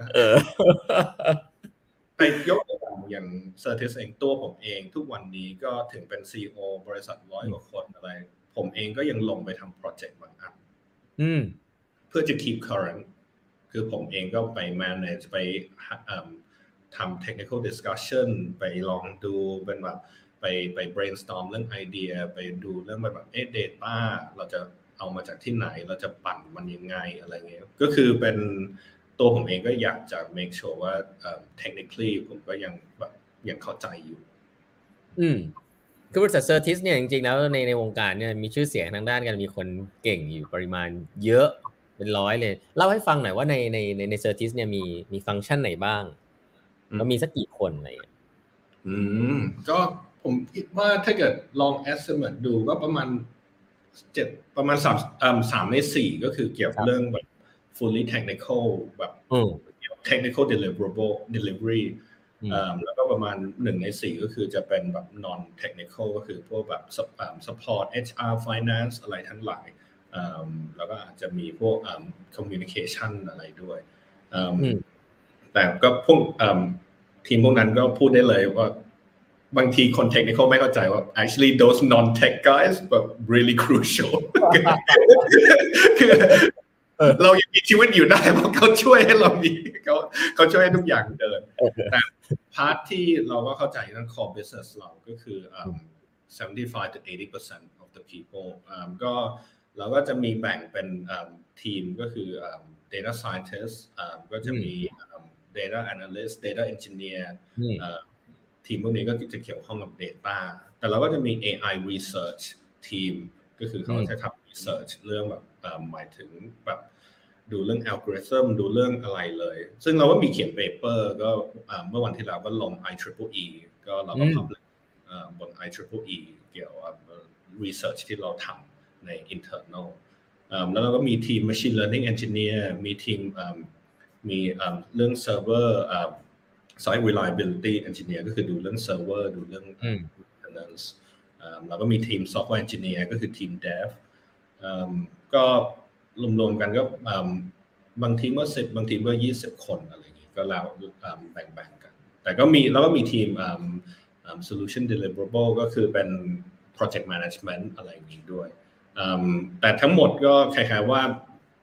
ไปยกตัวอย่างอย่าง Certis เองตัวผมเองทุกวันนี้ก็ถึงเป็น ซี อี โอ บริษัทร้อยกว่าคนอะไรผมเองก็ยังลงไปทำโปรเจกต์บางอันเพื่อจะ keep current คือผมเองก็ไป manage ไปทำ technical discussion ไปลองดูเป็นแบบไปไป brainstorm เรื่องไอเดียไปดูเรื่องแบบเอ๊ะ data เราจะเอามาจากที่ไหนเราจะปั่นมันยังไงอะไรเงี้ยก็คือเป็นตัวผมเองก็อยากจะ make sure ว่า technically ผมก็ยังแบบยังเข้าใจอยู่อืมคือบริษัท Certis เนี่ยจริงๆแล้วในในวงการเนี่ยมีชื่อเสียงทางด้านการมีคนเก่งอยู่ปริมาณเยอะเป็นร้อยเลยเล่าให้ฟังหน่อยว่าในในในใน Certis เนี่ยมีมีฟังก์ชันไหนบ้างแล้วมีสักกี่คนอะไรอย่างเงี้ยอืมก็ผมคิดว่าถ้าเกิดลอง estimate ดูก็ประมาณเจ็ดประมาณสามเอ่อสามในสี่ก็คือเกี่ยวกับเรื่องแบบ fully technical แบบ technical deliverable delivery แล้วก็ประมาณหนึ่งในสี่ก็คือจะเป็นแบบ non technical ก็คือพวกแบบ support เอช อาร์ finance อะไรทั้งหลายแล้วก็อาจจะมีพวก communication อะไรด้วยแต่ก็พวกทีมพวกนั้นก็พูดได้เลยว่าบางทีคน technical ไม่เข้าใจว่า actually those non tech guys แบบ really crucial คือเรายังมีชีวิตอยู่ได้เพราะเขาช่วยให้เรามีเขาเขาช่วยให้ทุกอย่างเดินแต่พาร์ทที่เราก็เข้าใจเรื่อง core business เราก็คือ seventy-five to eighty percent of the people ก็เราก็จะมีแบ่งเป็นทีมก็คือ data scientist ก็จะมี data analyst data engineer ทีมพวกนี้ก็จะเกี่ยวข้องกับ data แต่เราก็จะมี เอ ไอ research ทีมก็คือเขาจะทำ research เรื่องแบบหมายถึงแบบดูเรื่อง algorithm ดูเรื่องอะไรเลยซึ่งเราก็มีเขียน paper ก็เมื่อวันที่แล้วก็ลง ไอ ทริปเปิลอี ก็เราก็ publish บน ไอ ทริปเปิลอี เกี่ยวกับ research ที่เราทำใน internal แล้วเราก็มีทีม machine learning engineer มีทีมมีเรื่อง server site reliability engineer ก็คือดูเรื่อง server ดูเรื่อง maintenance แล้วก็มีทีม software engineer ก็คือทีม dev ก็รวมๆกันก็บางทีเมื่อสิบบางทีเมื่อยี่สิบคนอะไรอย่างนี้ก็แล้วแบ่งๆกันแต่ก็มีแล้วก็มีทีม solution deliverable ก็คือเป็น project management อะไรอย่างนี้ด้วยแต่ทั้งหมดก็คล้ายๆว่า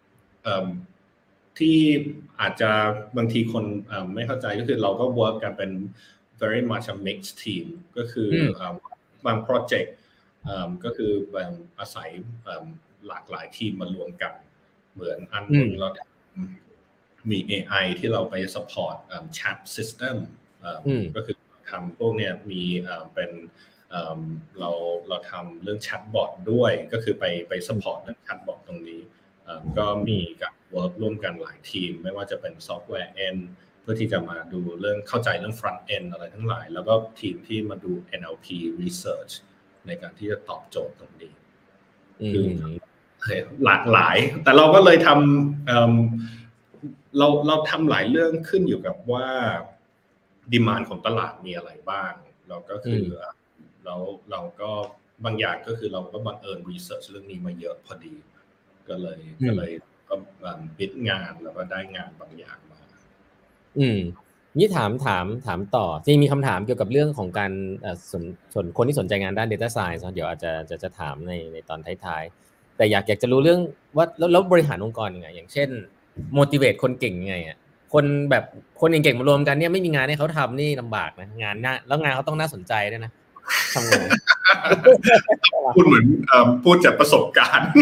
ที่อาจจะบางทีคนไม่เข้าใจก็คือเราก็ work กันเป็น very much a mixed team ก็คือบาง project ก็คืออาศัยหลากหลายทีมมารวมกันเหมือนอันนึงเรามี เอ ไอ ที่เราไป support chat system ก็คือทำพวกเนี้ยมีเป็นเราเราทำเรื่อง chatbot ด้วยก็คือไปไป support เรื่อง chatbot ตรงนี้ก็มีการ work ร่วมกันหลายทีมไม่ว่าจะเป็น software end เพื่อที่จะมาดูเรื่องเข้าใจเรื่อง front end อะไรทั้งหลายแล้วก็ทีมที่มาดู เอ็น แอล พี research ในการที่จะตอบโจทย์ตรงนี้คือหลากหลายแต่เราก็เลยทำ เ, เราเราทำหลายเรื่องขึ้นอยู่กับว่าดีมานด์ของตลาดมีอะไรบ้างเราก็คือเราเราก็บางอย่างก็คือเราก็บังเอิญ research เรื่องนี้มาเยอะพอดีก็เลยก็เลยก็บิดงานแล้วก็ได้งานบางอย่างมาอืมนี่ถามถามถามต่อจริงมีคำถามเกี่ยวกับเรื่องของการสนสนคนที่สนใจงานด้าน data science เดี๋ยวอาจจะจะจะถามในในตอนท้ายๆแต่อยากอยากจะรู้เรื่องว่าแล้วบริหารองค์กรยังไงอย่างเช่น motivate คนเก่งยังไงอ่ะคนแบบคนเก่งๆมารวมกันเนี่ยไม่มีงานให้เขาทำนี่ลำบากนะงานน่าแล้วงานเขาต้องน่าสนใจด้วยนะทำไงพูดเหมือนพูดจากประสบการณ์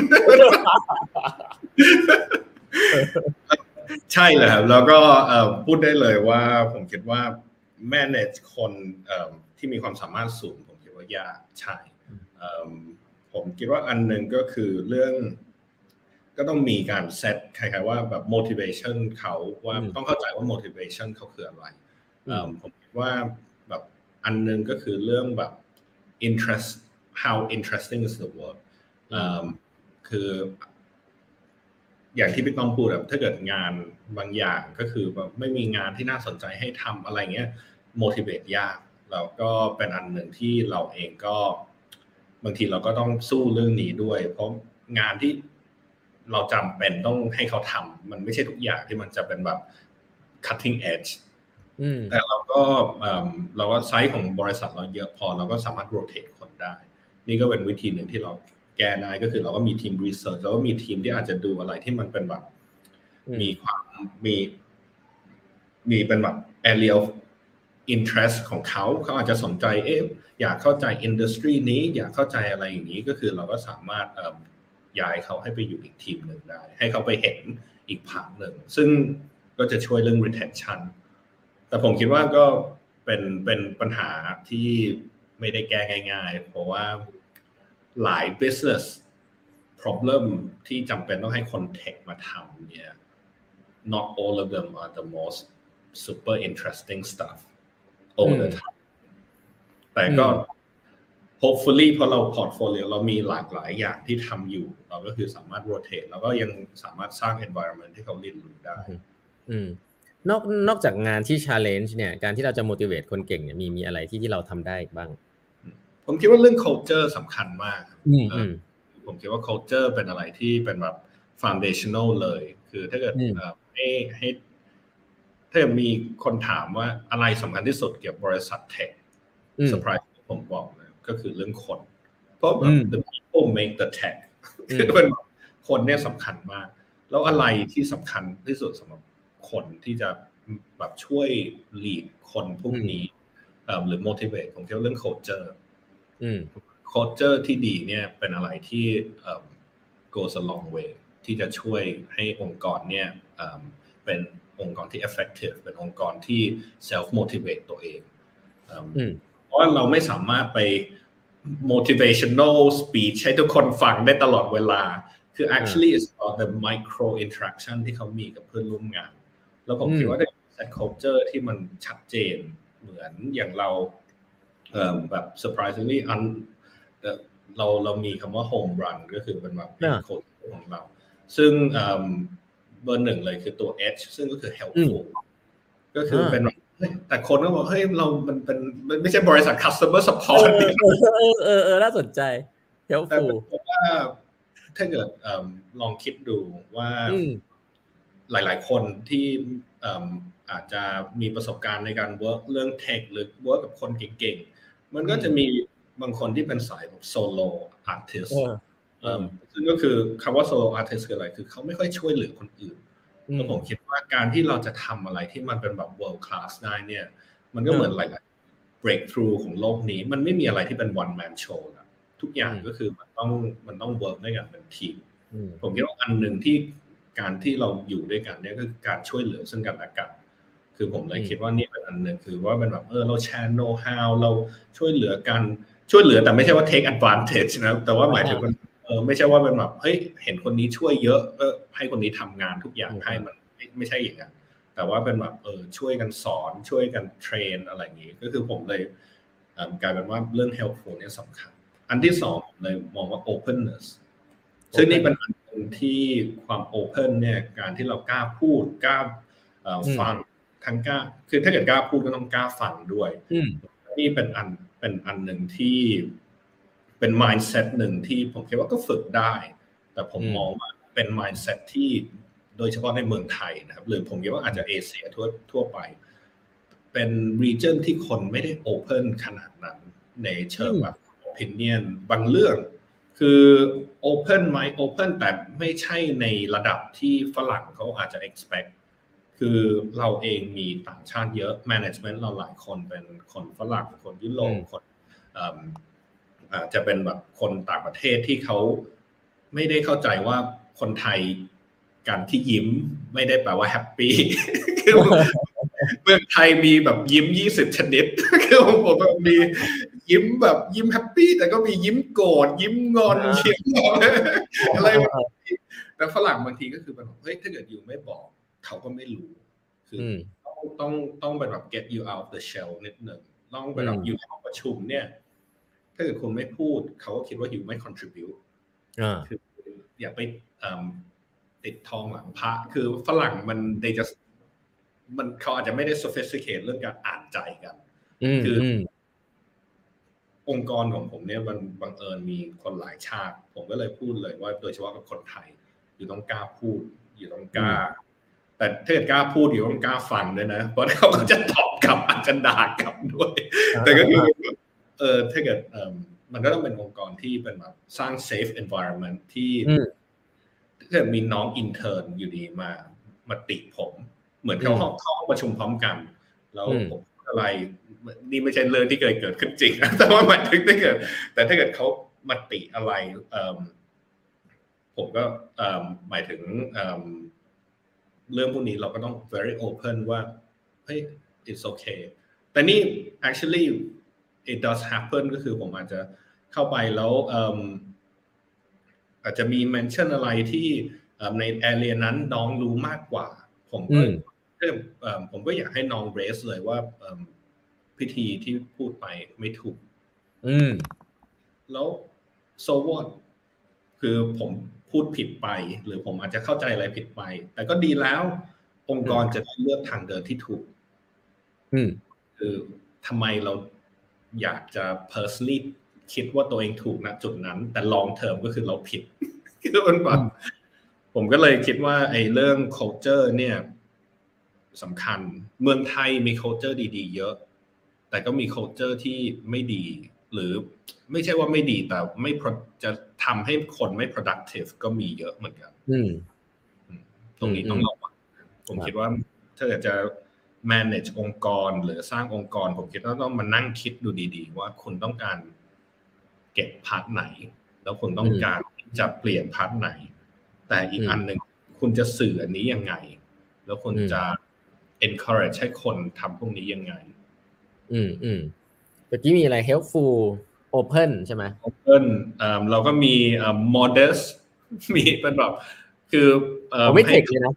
ใช่เลยครับแล้วก็พูดได้เลยว่าผมคิดว่า manage คนที่มีความสามารถสูงผมคิดว่ายากใช่ผมคิดว่าอันนึงก็คือเรื่องก็ต้องมีการเซตคล้ายๆว่าแบบ motivation เขาว่าต้องเข้าใจว่า motivation เขาคืออะไรผมคิดว่าแบบอันนึงก็คือเรื่องแบบ interest how interesting is the work คืออย่างที่พี่ต้องพูดแบบถ้าเกิดงานบางอย่างก็คือแบบไม่มีงานที่น่าสนใจให้ทำอะไรเงี้ย motivate ยากแล้วก็เป็นอันหนึ่งที่เราเองก็บางทีเราก็ต้องสู้เรื่องนี้ด้วยเพราะงานที่เราจำเป็นต้องให้เขาทำมันไม่ใช่ทุกอย่างที่มันจะเป็นแบบ cutting edge แต่เราก็เราก็ไซส์ของบริษัทเราเยอะพอเราก็สามารถ rotate คนได้นี่ก็เป็นวิธีหนึ่งที่เราแก้ได้ก็คือเราก็มีทีม research แล้วก็มีทีมที่อาจจะดูอะไรที่มันเป็นแบบมีความมีมีเป็นแบบ area of interest ของเขาเขาอาจจะสนใจเอ๊ะอยากเข้าใจ industry นี้อยากเข้าใจอะไรอย่างนี้ก็คือเราก็สามารถย้ายเขาให้ไปอยู่อีกทีมหนึ่งได้ให้เขาไปเห็นอีกภาคหนึ่งซึ่งก็จะช่วยเรื่อง retention แต่ผมคิดว่าก็เป็นเป็นปัญหาที่ไม่ได้แก้ง่ายๆเพราะว่าหลาย business problem ที่จำเป็นต้องให้คน tech มาทำเนี่ย not all of them are the most super interesting stuff all the time แต่ก็ hopefully พอเรา portfolio เรามีหลากหลายอย่างที่ทำอยู่เราก็คือสามารถ rotate แล้วก็ยังสามารถสร้าง environment ที่เขาเรียนรู้ได้นอกนอกจากงานที่ challenge เนี่ยการที่เราจะ motivate คนเก่งเนี่ยมีมีอะไรที่ที่เราทำได้บ้างผมคิดว่าเรื่อง culture สำคัญมากผมคิดว่า culture เป็นอะไรที่เป็นแบบ foundational เลยคือถ้าเกิดให้ให้ถ้ามีคนถามว่าอะไรสำคัญที่สุดเกี่ยวกับบริษัทเทค surprise ผมบอกเลยก็คือเรื่องคนเพราะแบบ the people make the tech คือเป็นคนเนี่ยสำคัญมากแล้วอะไรที่สำคัญที่สุดสำหรับคนที่จะแบบช่วย lead คนพวกนี้หรือ motivate ผมคิดว่าเรื่อง culture culture ที่ดีเนี่ยเป็นอะไรที่ goes a long way ที่จะช่วยให้องค์กรเนี่ยเป็นองค์กรที่ effective เป็นองค์กรที่ self motivate ตัวเองเพราะว่าเราไม่สามารถไป motivational speech ให้ทุกคนฟังได้ตลอดเวลาคือ actually it's about the micro interaction ที่เขามีกับเพื่อนร่วมงานแล้วผมคิดว่าถ้า set culture ที่มันชัดเจนเหมือนอย่างเราแบบ surprisingly อันเราเรามีคำว่า home run ก็คือเป็นแบบเป็นโค้ดของเราซึ่งเบอร์หนึ่งเลยคือตัว H ซึ่งก็คือ helpful ก็คือเป็นแต่คนก็บอกเฮ้ยเรามันเป็นไม่ใช่บริษัท customer support เออเออเออน่าสนใจ helpful แต่ว่าถ้าเกิดลองคิดดูว่าหลายๆคนที่อาจจะมีประสบการณ์ในการ work เรื่อง tech หรือ work กับคนเก่งๆมันก็จะมีบางคนที่เป็นสายแบบ solo artist ซึ่งก็คือคำว่า solo artist คืออะไรคือเขาไม่ค่อยช่วยเหลือคนอื่นแล้วผมคิดว่าการที่เราจะทำอะไรที่มันเป็นแบบ world class ได้เนี่ยมันก็เหมือนหลายๆ breakthrough ของโลกนี้มันไม่มีอะไรที่เป็น one man show นะทุกอย่างก็คือมันต้องมันต้อง work ด้วยกันเป็นทีมผมคิดว่าอันหนึ่งที่การที่เราอยู่ด้วยกันเนี่ยก็คือการช่วยเหลือซึ่งกันและกันคือผมเลยคิดว่านี่เป็นอันหนึ่งคือว่าเป็นแบบเออเราแชร์ know how เราช่วยเหลือกันช่วยเหลือแต่ไม่ใช่ว่า take advantage นะแต่ว่าหมายถึงมันเออไม่ใช่ว่าเป็นแบบเฮ้ยเห็นคนนี้ช่วยเยอะก็ให้คนนี้ทำงานทุกอย่างให้มันไม่ไม่ใช่อย่างนั้นแต่ว่าเป็นแบบเออช่วยกันสอนช่วยกันเทรนอะไรอย่างนี้ก็คือผมเลยกลายเป็นว่าเรื่อง helpful เนี่ยสำคัญอันที่สองเลยมองว่า openness ซึ่งนี่เป็นอันนึงที่ความ open เนี่ยการที่เรากล้าพูดกล้าฟังทั้งกล้าคือถ้าเกิดกล้าพูดก็ต้องกล้าฟังด้วยนี่เป็นอันเป็นอันหนึ่งที่เป็น mindset หนึ่งที่ผมคิดว่าก็ฝึกได้แต่ผมมองว่าเป็น mindset ที่โดยเฉพาะในเมืองไทยนะครับหรือผมคิดว่าอาจจะเอเชียทั่วทั่วไปเป็น region ที่คนไม่ได้ open ขนาดนั้นในเชิงแบบ opinion บางเรื่องคือ open ไหม open แต่ไม่ใช่ในระดับที่ฝรั่งเขาอาจจะ expect คือเราเองมีต่างชาติเยอะ management เราหลายคนเป็นคนฝรั่งคนยุโรปคนอ่าจะเป็นแบบคนต่างประเทศที่เขาไม่ได้เข้าใจว่าคนไทยการที่ยิ้มไม่ได้แปลว่าแฮปปี้คือเมืองไทยมีแบบยิ้มยี่สิบชนิดคือผมแบบมียิ้มแบบยิ้มแฮปปี้แต่ก็มียิ้มโกรธยิ้มงอนยิ้มอะไรแต่ฝรั่งบางทีก็คือแบบเฮ้ยถ้าเกิดอยู่ไม่บอกเขาก็ไม่รู้คือต้องต้องต้องเป็นแบบ get you out of the shell นิดหนึ่งต้องเป็นแบบอยู่ในห้องประชุมเนี่ยถ้าเกิดคุณไม่พูดเขาก็คิดว่าอยู่ไม่ contribute คืออย่าไปติดทองหลังพระคือฝรั่งมัน they just มันเขาอาจจะไม่ได้ sophisticate เรื่องการอ่านใจกันคือองค์กรของผมเนี่ยมันบังเอิญมีคนหลายชาติผมก็เลยพูดเลยว่าโดยเฉพาะกับคนไทยอยู่ต้องกล้าพูดอยู่ต้องกล้าแต่ถ้าเกิดกล้าพูดอยู่ต้องกล้าฟังด้วยนะเพราะเขาก็จะตอบกลับอาจจะด่ากลับด้วยแต่ก็คือเออถ้าเกิดเออมันก็ต้องเป็นองค์กรที่เป็นแบบสร้าง safe environment ที่ถ้าเกิดมีน้อง intern อยู่ดีมามาติผมเหมือนเขาห้องเข้าห้องประชุมพร้อมกันแล้วผมอะไรนี่ไม่ใช่เรื่องที่เคยเกิดขึ้นจริงนะแต่ว่าหมายถึงถ้าเกิดแต่ถ้าเกิดเขามาติอะไรผมก็หมายถึงเรื่องพวกนี้เราก็ต้อง very open ว่าเฮ้ย it's okay แต่นี่ actually it does happen ก็คือผมอาจจะเข้าไปแล้วอาจจะมี mention อะไรที่ใน area นั้นน้องรู้มากกว่าผมก็ผมก็อยากให้น้อง raise เลยว่าพิธีที่พูดไปไม่ถูกแล้ว so what คือผมพูดผิดไปหรือผมอาจจะเข้าใจอะไรผิดไปแต่ก็ดีแล้วองค์กรจะได้เลือกทางเดินที่ถูกคือทำไมเราอยากจะ personally คิดว่าตัวเองถูกณจุดนั้นแต่ long term ก็คือเราผิดคือมันแบบผมก็เลยคิดว่าไอ้เรื่อง culture เนี่ยสำคัญเมืองไทยมี culture ดีๆเยอะแต่ก็มี culture ที่ไม่ดีหรือไม่ใช่ว่าไม่ดีแต่ไม่จะทำให้คนไม่ productive ก็มีเยอะเหมือนกันตรงนี้ต้องระวังผมคิดว่าถ้าเกิดจะ manage องค์กรหรือสร้างองค์กรผมคิดว่าต้องมานั่งคิดดูดีๆว่าคุณต้องการเก็บพาร์ทไหนแล้วคุณต้องการจะเปลี่ยนพาร์ทไหนแต่อีกอันหนึ่งคุณจะสื่ออันนี้ยังไงแล้วคุณจะ encourage ให้คนทำพวกนี้ยังไงอืมอืมเมื่อกี้มีอะไร helpful open ใช่ไหม open อ่าเราก็มีอ่า modest มีเป็นแบบคือเอ่อไม่เทคเลยนะ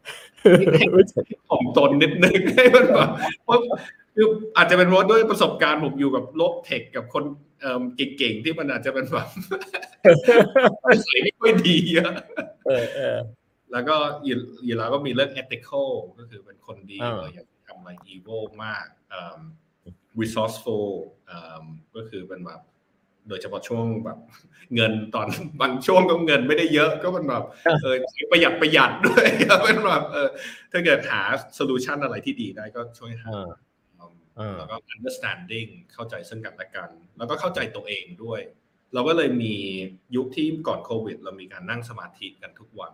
ผมตนนิดนึงให้มันแบบว่าคืออาจจะเป็นเพราะด้วยประสบการณ์ผมอยู่กับโลกเทคกับคนเอ่อเก่งๆที่มันอาจจะเป็นแบบใส่ไม่ค่อยดีเยอะเออเออแล้วก็อยู่อยู่แล้วก็มีเรื่อง ethical ก็คือเป็นคนดีอย่าทำอะไร evil มาก resourceful ก็คือเป็นแบบโดยเฉพาะช่วงแบบเงินตอนบางช่วงก็เงินไม่ได้เยอะก็เป็นแบบเออประหยัดประหยัดด้วยเป็นแบบเออถ้าเกิดหาโซลูชันอะไรที่ดีได้ก็ช่วยหาแล้วก็ understanding เข้าใจซึ่งกันและกันแล้วก็เข้าใจตัวเองด้วยเราก็เลยมียุคที่ก่อนโควิดเรามีการนั่งสมาธิกันทุกวัน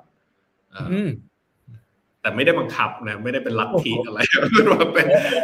แต่ไม่ได้บังคับนะไม่ได้เป็นลัทธิอะไรเป็น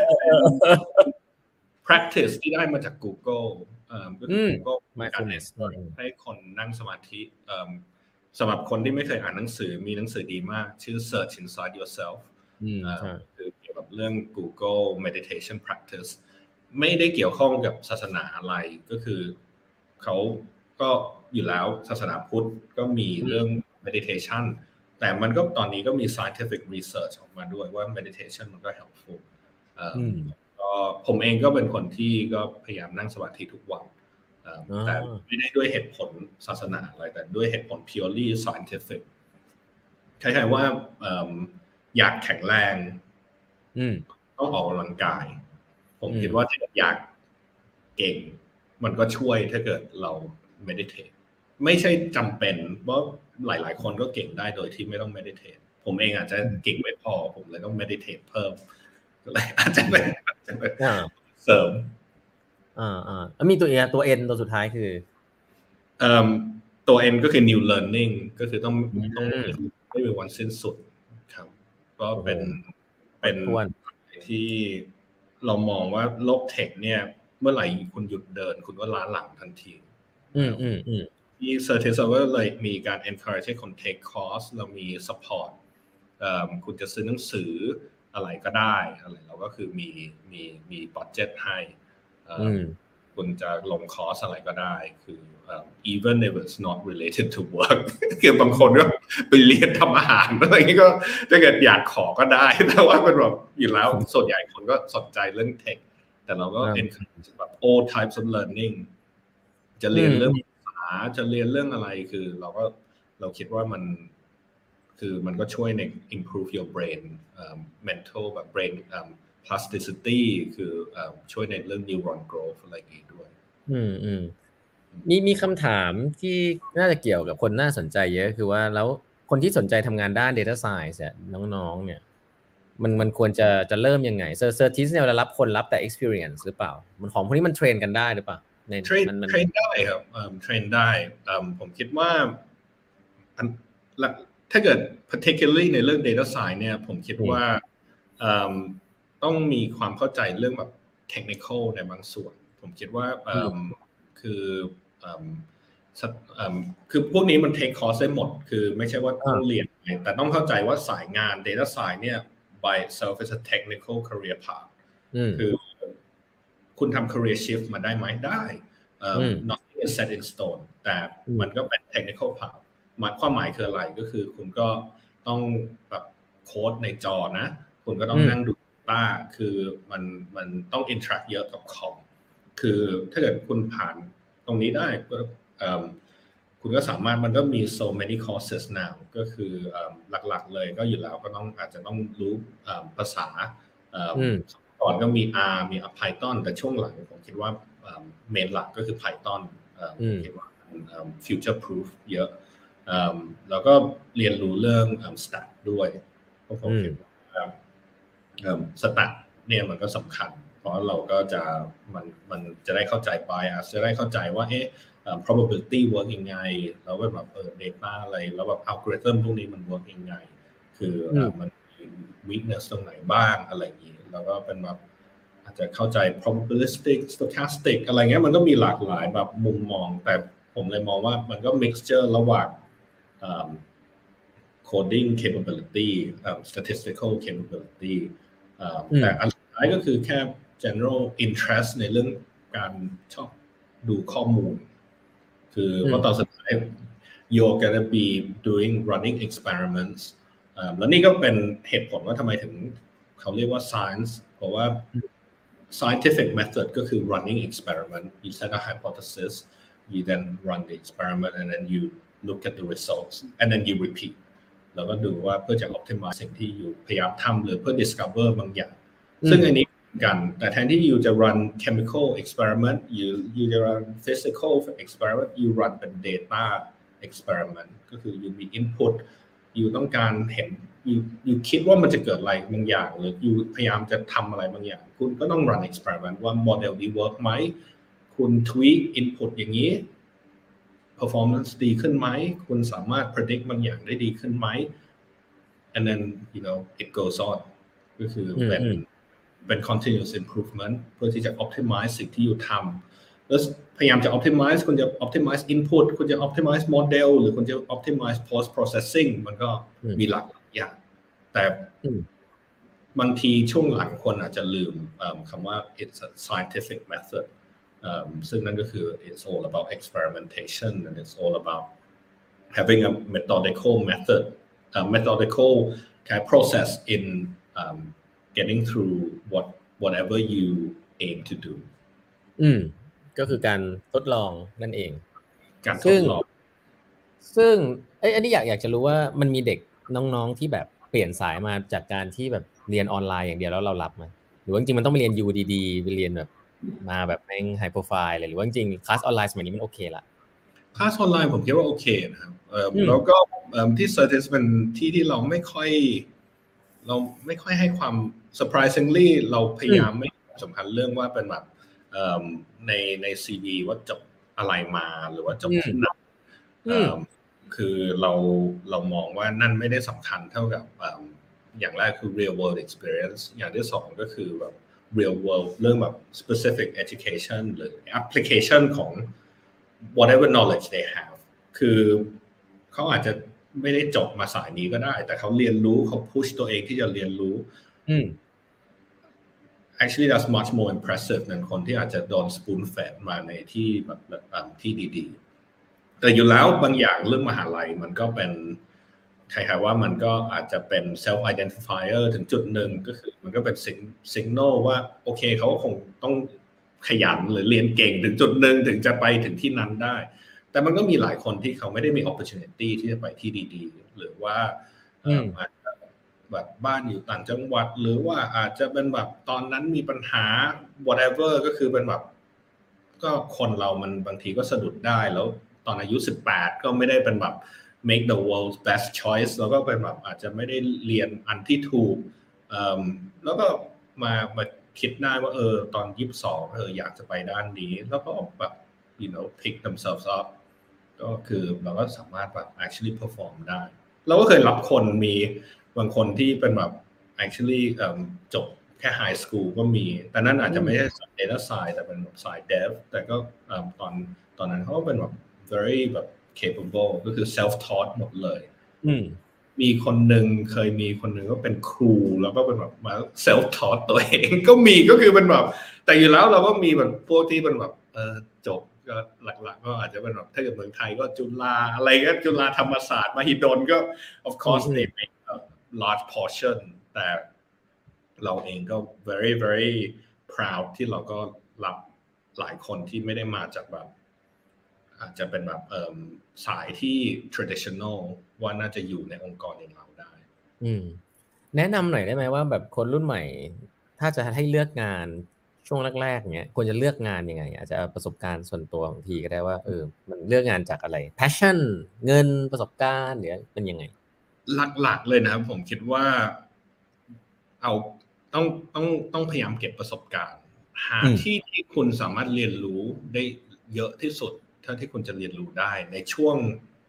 practice ที่ได้มาจาก Google ก็คือ Google มีการให้คนนั่งสมาธิสำหรับคนที่ไม่เคยอ่านหนังสือมีหนังสือดีมากชื่อ Search Inside Yourself คือเกี่ยวกับเรื่อง Google meditation practice ไม่ได้เกี่ยวข้องกับศาสนาอะไรก็คือเขาก็อยู่แล้วศาสนาพุทธก็มีเรื่อง meditation แต่มันก็ตอนนี้ก็มี scientific research ออกมาด้วยว่า meditation มันก็ helpful ก็ผมเองก็เป็นคนที่ก็พยายามนั่งสมาธิทุกวันแต่ไม่ได้ด้วยเหตุผลศาสนาอะไรแต่ด้วยเหตุผล purely scientific คล้ายๆว่าอยากแข็งแรงต้องออกกำลังกายผมคิดว่าถ้าอยากเก่งมันก็ช่วยถ้าเกิดเรา meditate ไม่ใช่จำเป็นเพราะหลายๆคนก็เก่งได้โดยที่ไม่ต้อง meditate ผมเองอาจจะเก่งไม่พอผมเลยต้อง meditate เพิ่มอะไรอาจจะเป็นเสริมอ่าอ่าแล้วมีตัวเอตัว N ตัวสุดท้ายคือเอ่อตัว N ก็คือ new learning ก็คือต้องต้องไม่มีวันสิ้นสุดครับก็เป็นเป็นที่เรามองว่าโลกเทคเนี่ยเมื่อไหร่คุณหยุดเดินคุณก็ล้าหลังทันทีอืมอืมอืมที่ Certis เราก็เลยมีการ encourage ให้คน take course เรามี support เอ่อคุณจะซื้อหนังสืออะไรก็ได้อะไรเราก็คือมีมีมี budget ให้คุณจะลงคอร์สอะไรก็ได้คือ even if it's not related to work คือบางคนก็ไปเรียนทำอาหารอะไรอย่างนี้ก็ถ้าเกิดอยากขอก็ได้แต่ว่าเป็นแบบอยู่แล้วส่วนใหญ่คนก็สนใจเรื่องเทคแต่เราก็ encourage แบบ all types of learning จะเรียนเรื่องภาษาจะเรียนเรื่องอะไรคือเราก็เราคิดว่ามันคือมันก็ช่วยใน improve your brain um, mental แบบ brain um, plasticity คือum, ช่วยในเรื่อง neuron growth อะไรอย่างงี้ด้วยอืมอืมมีมีคำถามที่น่าจะเกี่ยวกับคนน่าสนใจเยอะคือว่าแล้วคนที่สนใจทำงานด้าน data science เนี่ยน้องๆเนี่ยมันมันควรจะจะเริ่มยังไงเซอร์เซอร์ทิสเนี่ยเรารับคนรับแต่ experience หรือเปล่ามันของพวกนี้มันเทรนกันได้หรือเปล่าในเทรนเทรนได้ครับเทรนได้ผมคิดว่าถ้าเกิด particularly ในเรื่อง data science เนี่ยผมคิดว่าต้องมีความเข้าใจเรื่องแบบ technical ในบางส่วนผมคิดว่าคือคือพวกนี้มัน take course ได้หมดคือไม่ใช่ว่าต้องเรียนแต่ต้องเข้าใจว่าสายงาน data science เนี่ย by itself is a technical career path คือคุณทำ career shift มาได้ไหมได้ nothing is set in stone แต่มันก็เป็น technical path หมายความหมายคืออะไรก็คือคุณก็ต้องแบบโค้ดในจอนะคุณก็ต้องนั่งดูต้าคือมันมันต้อง interact เยอะกับคอมคือถ้าเกิดคุณผ่านตรงนี้ได้คุณก็สามารถมันก็มี so many courses now ก็คือหลักๆเลยก็อยู่แล้วก็ต้องอาจจะต้องรู้ภาษาก่อนก็มี R มี Python แต่ช่วงหลังผมคิดว่าเมนหลักก็คือ Python ผมคิดว่า future proof เยอะแล้วก็เรียนรู้เรื่อง stat ด้วยเพราะผมคิดว่าstat เนี่ยมันก็สำคัญเพราะเราก็จะมันมันจะได้เข้าใจ bias จะได้เข้าใจว่าเอ๊ะ probability work ยังไงแล้วแบบเออ data อะไรแล้วแบบ algorithm พวกนี้มัน work ยังไงคือมัน weakness ตรงไหนบ้างอะไรอย่างนี้แล้วก็เป็นแบบอาจจะเข้าใจ probabilistic stochastic อะไรเงี้ยมันก็มีหลากหลายแบบมุมมองแต่ผมเลยมองว่ามันก็ mixture ระหว่าง coding capability statistical capability แต่อันสุดท้ายก็คือแค่ general interest ในเรื่องการชอบดูข้อมูลคือว่าตอนสุดท้าย you're gonna be doing running experiments แล้วนี่ก็เป็นเหตุผลว่าทำไมถึงเขาเรียกว่า science เพราะว่า scientific method ก็คือ running experiment you set a hypothesis you then run the experiment and then you look at the results and then you repeat แล้วก็ดูว่าเพื่อจะ optimize สิ่งที่อยู่พยายามทำหรือเพื่อ discover บางอย่างซึ่งอันนี้กันแต่แทนที่ you จะ run chemical experiment you you จะ run physical experiment you run เป็น data experiment ก็คือ you มี input you ต้องการเห็น you you คิดว่ามันจะเกิดอะไรบางอย่างหรือ you พยายามจะทำอะไรบางอย่างคุณก็ต้อง run experiment ว่า model นี้ work ไหมคุณ tweak input อย่างนี้ performance ดีขึ้นไหมคุณสามารถ predict บางอย่างได้ดีขึ้นไหม and then you know it goes on ก็คือเป็นเป็น continuous improvement เพื่อที่จะ optimize สิ่งที่อยู่ทำแล้วพยายามจะ optimize คุณจะ optimize input คุณจะ optimize model หรือคุณจะ optimize post processing มันก็มีหลากหลายอย่างแต่บางทีช่วงหลังคนอาจจะลืมคำว่า it's a scientific method ซึ่งนั่นก็คือ it's all about experimentation and it's all about having a methodical method a methodical kind of process in um, getting through what whatever you aim to do อืมก็คือการทดลองนั่นเองการทดลองซึ่งเอ้ยอันนี้อยากอยากจะรู้ว่ามันมีเด็กน้องๆที่แบบเปลี่ยนสายมาจากการที่แบบเรียนออนไลน์อย่างเดียวแล้วเรารับมั้ยหรือว่าจริงๆมันต้องไปเรียน ยู ดี ๆ ไปเรียนแบบมาแบบแม่งไฮโปรไฟล์เลยหรือว่าจริงๆคลาสออนไลน์สมัยนี้มันโอเคละคลาสออนไลน์ผมคิดว่าโอเคนะครับเอ่อแล้วก็เอ่อที่ Certis เป็นที่ที่เราไม่ค่อยเราไม่ค่อยให้ความ surprisingly เราพยายามไม่สำคัญเรื่องว่าเป็นแบบเอ่อในใน ซี วี ว่าจบอะไรมาหรือว่าจบที่ไหนเอ่อคือเราเรามองว่านั่นไม่ได้สำคัญเท่ากับอย่างแรกคือ real world experience อย่างที่สองก็คือแบบ real world เรื่องแบบ specific education หรือ application ของ whatever knowledge they have คือเขาอาจจะไม่ได้จบมาสายนี้ก็ได้แต่เขาเรียนรู้เขา push ตัวเองที่จะเรียนรู้อืม actually that's much more impressive thanคนที่อาจจะโดน spoon fed มาในที่แบบที่ดีๆแต่อยู่แล้วบางอย่างเรื่องมหาลัยมันก็เป็นใครๆว่ามันก็อาจจะเป็น self identifier ถึงจุดหนึ่งก็คือมันก็เป็น signal ว่าโอเคเขาคงต้องขยันหรือเรียนเก่งถึงจุดหนึ่งถึงจะไปถึงที่นั้นได้แต่มันก็มีหลายคนที่เขาไม่ได้มี opportunity ที่จะไปที่ดีๆหรือว่าอาจจะแบบบ้านอยู่ต่างจังหวัดหรือว่าอาจจะเป็นแบบตอนนั้นมีปัญหา whatever ก็คือเป็นแบบก็คนเรามันบางทีก็สะดุดได้แล้วตอนอายุสิบแปดก็ไม่ได้เป็นแบบ make the world's best choice แล้วก็เป็นแบบอาจจะไม่ได้เรียนอันที่ถูกแล้วก็มามาคิดได้ว่าเออตอนยี่สิบสองเอออยากจะไปด้านนี้แล้วก็แบบ you know pick themselves up ก็คือเราก็สามารถแบบ actually perform ได้เราก็เคยรับคนมีบางคนที่เป็นแบบ actually จบแค่ high school ก็มีแต่นั่นอาจจะไม่ใช่สาย data science แต่เป็นแบบสาย dev แต่ก็ตอนตอนนั้นเขาก็เป็นแบบ very แบบ capable ก็คือ self taught หมดเลยมีคนหนึ่งเคยมีคนหนึ่งก็เป็นครูแล้วก็เป็นแบบมา self taught ตัวเองก็มีก็คือเป็นแบบแต่อยู่แล้วเราก็มีแบบพวกที่เป็นแบบเออจบก็หลักๆก็อาจจะเป็นแบบถ้าเกิดเมืองไทยก็จุฬาอะไรก็จุฬาธรรมศาสตร์มหิดลก็ of course they make a large portion แต่เราเองก็ very very proud ที่เราก็รับหลายคนที่ไม่ได้มาจากแบบอาจจะเป็นแบบเอ่อสายที่ traditional ว่าน่าจะอยู่ในองค์กรอย่างเราได้อืมแนะนำหน่อยได้ไหมว่าแบบคนรุ่นใหม่ถ้าจะให้เลือกงานช่วงแรกๆเนี้ยควรจะเลือกงานยังไงอาจจะเอาประสบการณ์ส่วนตัวของทีก็ได้ว่าเออมันเลือกงานจากอะไร passion เงินประสบการณ์หรือเป็นยังไงหลักๆเลยนะครับผมคิดว่าเอาต้องต้องต้องพยายามเก็บประสบการณ์หาที่ที่คุณสามารถเรียนรู้ได้เยอะที่สุดเท่าที่คุณจะเรียนรู้ได้ในช่วง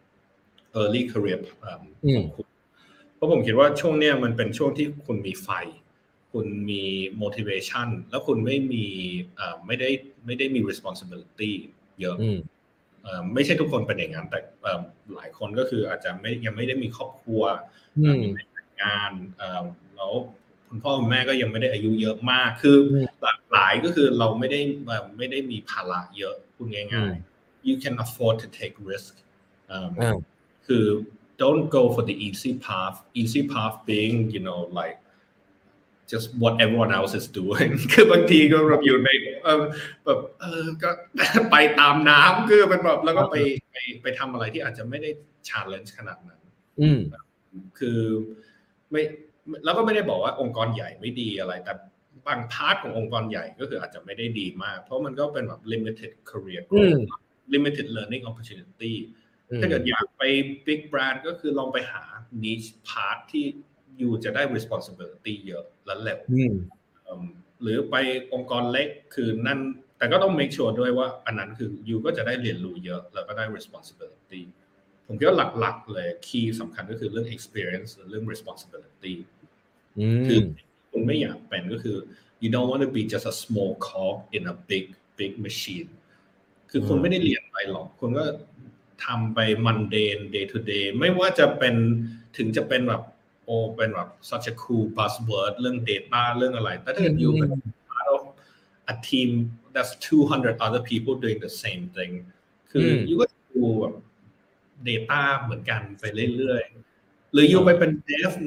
early career ของคุณเพราะผมคิดว่าช่วงเนี้ยมันเป็นช่วงที่คุณมีไฟคุณมี motivation แล้วคุณไม่มีไม่ได้ไม่ได้มี responsibility เยอะไม่ใช่ทุกคนเป็นอย่างนั้นแต่หลายคนก็คืออาจจะไม่ยังไม่ได้มีครอบครัวมีแต่งงานแล้วคุณพ่อคุณแม่ก็ยังไม่ได้อายุเยอะมากคือหลากหลายก็คือเราไม่ได้ไม่ได้มีภาระเยอะพูดง่ายๆ you can afford to take risk คือ don't go for the easy path easy path being you know like just what everyone else is doing คือบางทีก็แบบอยู่ในแบบเออก็ไปตามน้ำคือเป็นแบบแล้วก็ไปไปไปทำอะไรที่อาจจะไม่ได้ challenge ขนาดนั้นคือไม่แล้วก็ไม่ได้บอกว่าองค์กรใหญ่ไม่ดีอะไรแต่บางพาร์ทขององค์กรใหญ่ก็คืออาจจะไม่ได้ดีมากเพราะมันก็เป็นแบบ limited career growth limited learning opportunity ถ้าเกิดอยากไป big brand ก็คือลองไปหา niche part ที่ยูจะได้ responsibility เยอะและเร็วหรือไปองค์กรเล็กคือนั่นแต่ก็ต้อง make sure ด้วยว่าอันนั้นคือยูก็จะได้เรียนรู้เยอะแล้วก็ได้ responsibility ผมคิดว่าหลักๆเลย key สำคัญก็คือเรื่อง experience เรื่อง responsibility คือคุณไม่อยากเป็นก็คือ you don't want to be just a small cog in a big big machine คือคุณไม่ได้เรียนอะไรหรอกคุณก็ทำไป mundane day to day ไม่ว่าจะเป็นถึงจะเป็นแบบโอ้เป็นแบบ such a cool buzzword เรื่อง data เรื่องอะไรแต่ถ้าเกิดอยู่เป็น part of a team that's two hundred other people doing the same thing คืออยู่ก็ดูแบบ data เหมือนกันไปเรื่อยๆหรืออยู่ไปเป็น dev ใน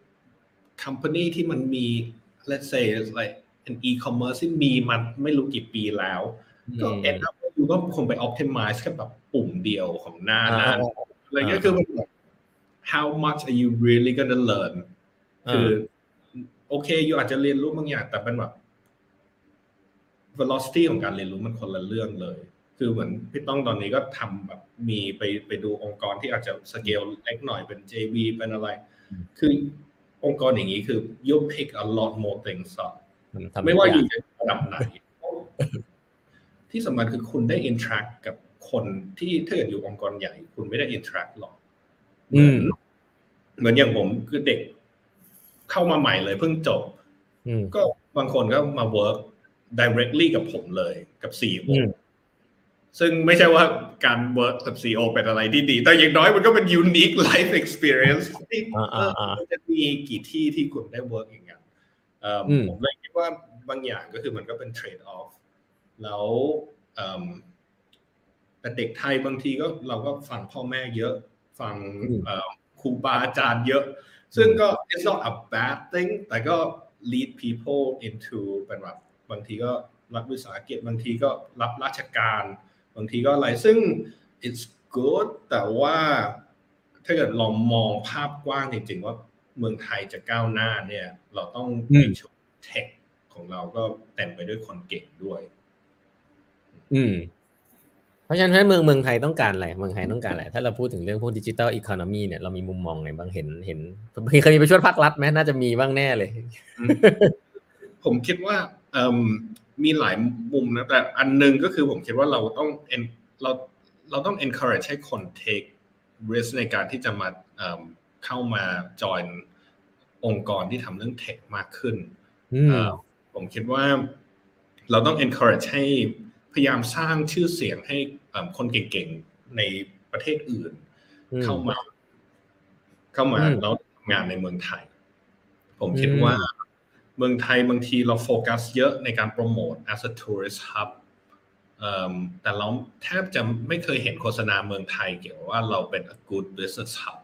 company ที่มันมี let's say like an e-commerce ที่มีมันไม่รู้กี่ปีแล้วก็ end up อยู่ก็คงไป optimize แค่แบบปุ่มเดียวของหน้านั้นอะไรเงี้ยคือมันhow much are you really gonna learn คือโอเคอยู่อาจจะเรียนรู้บางอย่างแต่เป็นแบบ velocity ของการเรียนรู้มันคนละเรื่องเลยคือเหมือนพี่ต้องตอนนี้ก็ทำแบบมีไปไปดูองค์กรที่อาจจะสเกลเล็กหน่อยเป็น เจ วี เป็นอะไรคือองค์กรอย่างนี้คือ you pick a lot more things up ไม่ว่าอยู่ในระดับไหนที่สำคัญคือคุณได้ interact กับคนที่ถ้าเกิดอยู่องค์กรใหญ่คุณไม่ได้ interact หรอกเหมือนเหมือนอย่างผมคือเด็กเข้ามาใหม่เลยเพิ่งจบก็บางคนก็มา work directly กับผมเลยกับ ซี อี โอซึ่งไม่ใช่ว่าการ work กับ ซี อี โอ เป็นอะไรที่ดีแต่อย่างน้อยมันก็เป็น unique life experience ที่เออมันจะมีกี่ที่ที่คุณได้ work อย่างเงี้ยผมเลยคิดว่าบางอย่างก็คือมันก็เป็น trade off แล้วแต่เด็กไทยบางทีก็เราก็ฟังพ่อแม่เยอะฟังครูบาอาจารย์เยอะซึ่งก็ it's not a bad thing แต่ก็ lead people into เป็นแบบบางทีก็รับวิสาหกิจบางทีก็รับราชการบางทีก็อะไรซึ่ง it's good แต่ว่าถ้าเกิดลองมองภาพกว้างจริงๆว่าเมืองไทยจะก้าวหน้าเนี่ยเราต้องมีชุดเทคของเราก็เต็มไปด้วยคนเก่งด้วยอืมเพราะฉะนั้นเมืองเมืองไทยต้องการอะไรเมืองไทยต้องการอะไรถ้าเราพูดถึงเรื่องพวกดิจิทัลอีโคโนมีเนี่ยเรามีมุมมองไงบ้างเห็นเห็นเคยมีไปช่วยภาครัฐไหมน่าจะมีบ้างแน่เลยผมคิดว่ามีหลายมุมนะแต่อันนึงก็คือผมคิดว่าเราต้องเราเราต้อง encourage ให้คน take risk ในการที่จะมาเข้ามา join องค์กรที่ทำเรื่องเทคมากขึ้นผมคิดว่าเราต้อง encourage ให้พยายามสร้างชื่อเสียงให้คนเก่งๆในประเทศอื่นเข้ามาเข้ามาแล้วทำงานในเมืองไทยผมคิดว่าเมืองไทยบางทีเราโฟกัสเยอะในการโปรโมท as a tourist hub แต่เราแทบจะไม่เคยเห็นโฆษณาเมืองไทยเกี่ยวกับว่าเราเป็น a good business hub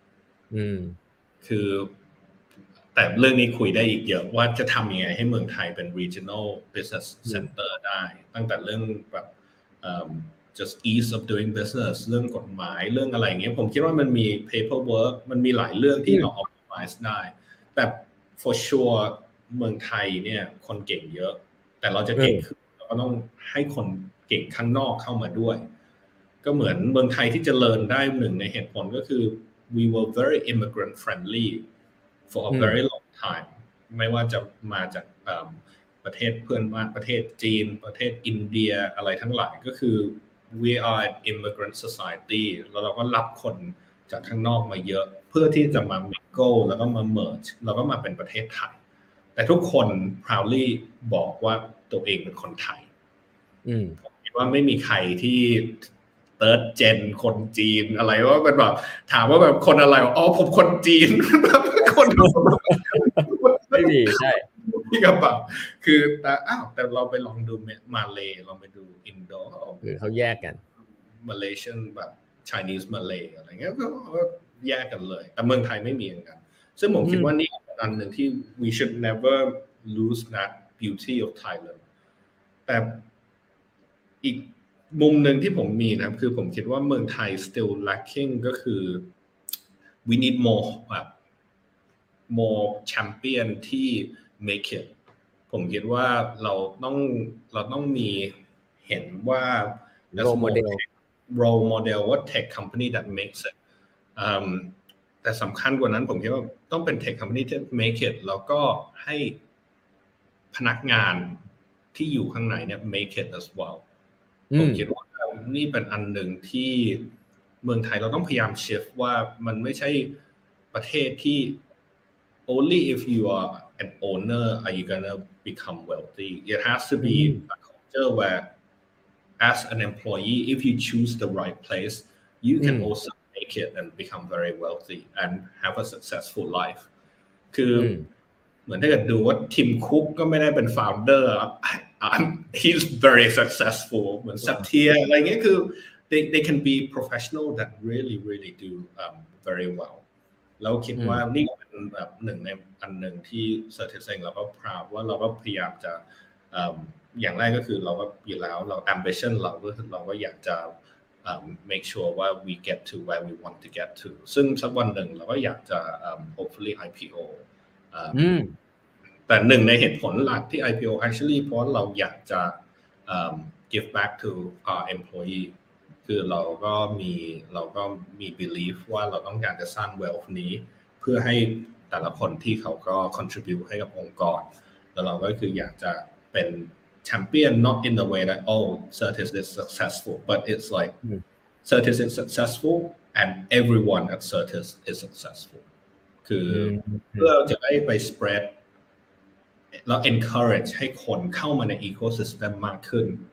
คือแต่เรื่องนี้คุยได้อีกเยอะว่าจะทำยังไงให้เมืองไทยเป็น regional business center ได้ตั้งแต่เรื่องแบบ just ease of doing business เรื่องกฎหมายเรื่องอะไรอย่างเงี้ยผมคิดว่ามันมี paperwork มันมีหลายเรื่องที่เรา optimize ได้แต่ for sure เมืองไทยเนี่ยคนเก่งเยอะแต่เราจะเก่งขึ้นเราก็ต้องให้คนเก่งข้างนอกเข้ามาด้วยก็เหมือนเมืองไทยที่เจริญได้หนึ่งในเหตุผลก็คือ we were very immigrant friendly for a very long time ไม่ว่าจะมาจากประเทศเพื่อนบ้านประเทศจีนประเทศอินเดียอะไรทั้งหลายก็คือ we are an immigrant society แล้วเราก็รับคนจากข้างนอกมาเยอะเพื่อที่จะมา mingle แล้วก็มา merge แล้วก็มาเป็นประเทศไทยแต่ทุกคน proudly บอกว่าตัวเองเป็นคนไทยผมคิดว่าไม่มีใครที่ third gen คนจีนอะไรว่าเป็นแบบถามว่าแบบคนอะไรอ๋อผมคนจีนคนไม่ดีใช่ที่กระเป๋าคือแต่อ้าวแต่เราไปลองดูมาเลย์ลองไปดูอินโดคือเขาแยกกันมาเลเซียนแบบ Chinese Malay อะไรเงี้ยก็แยกกันเลยแต่เมืองไทยไม่มีเหมือนกันซึ่งผมคิดว่านี่เป็นอันหนึ่งที่ we should never lose that beauty of Thailand แต่อีกมุมหนึ่งที่ผมมีนะครับคือผมคิดว่าเมืองไทย still lacking ก็คือ we need more แบบ more champion ที่ make it ผมคิดว่าเราต้องเราต้องมีเห็นว่า role model role model ว่า tech company that makes it แต่สำคัญกว่านั้นผมคิดว่าต้องเป็น tech company ที่ make it แล้วก็ให้พนักงานที่อยู่ข้างในเนี่ย make it as well ผมคิดว่านี่เป็นอันหนึ่งที่เมืองไทยเราต้องพยายาม shift ว่ามันไม่ใช่ประเทศที่ only if you are an owner are you gonna become wealthy it has to be a culture where as an employee if you choose the right place you can also make it and become very wealthy and have a successful life คือเหมือนถ้าเกิดดูว่าทิมคุกก็ไม่ได้เป็น founder he's very successful เหมือนสัตเทียอะไรเงี้ยคือ they they can be professional that really really do um, very well แล้วคิดว่านี่เป็นแบบหนึ่งในอันหนึ่งที่ Certis เองเราก็ proud ว่าเราก็พยายามจะอย่างแรกก็คือเราก็อยู่แล้วเรา ambition เราก็เราก็อยากจะ um, make sure ว่า we get to where we want to get to ซึ่งสักวันหนึ่งเราก็อยากจะ um, hopefully ไอ พี โอ um, แต่หนึ่งในเหตุผลหลักที่ ไอ พี โอ actually เพราะเราอยากจะ um, give back to our employee คือเราก็มีเราก็มี belief ว่าเราต้องการจะสร้าง wealth นี้เพื่อให้แต่ละคนที่เขาก็ contribute ให้กับองค์กรแล้วเราก็คืออยากจะเป็น champion not in the way that oh Certis is successful but it's like Certis is successful and everyone at Certis is successful คือเพื่อจะได้ไป spread แล้ว encourage ให้คนเข้ามาใน ecosystem มากขึ้น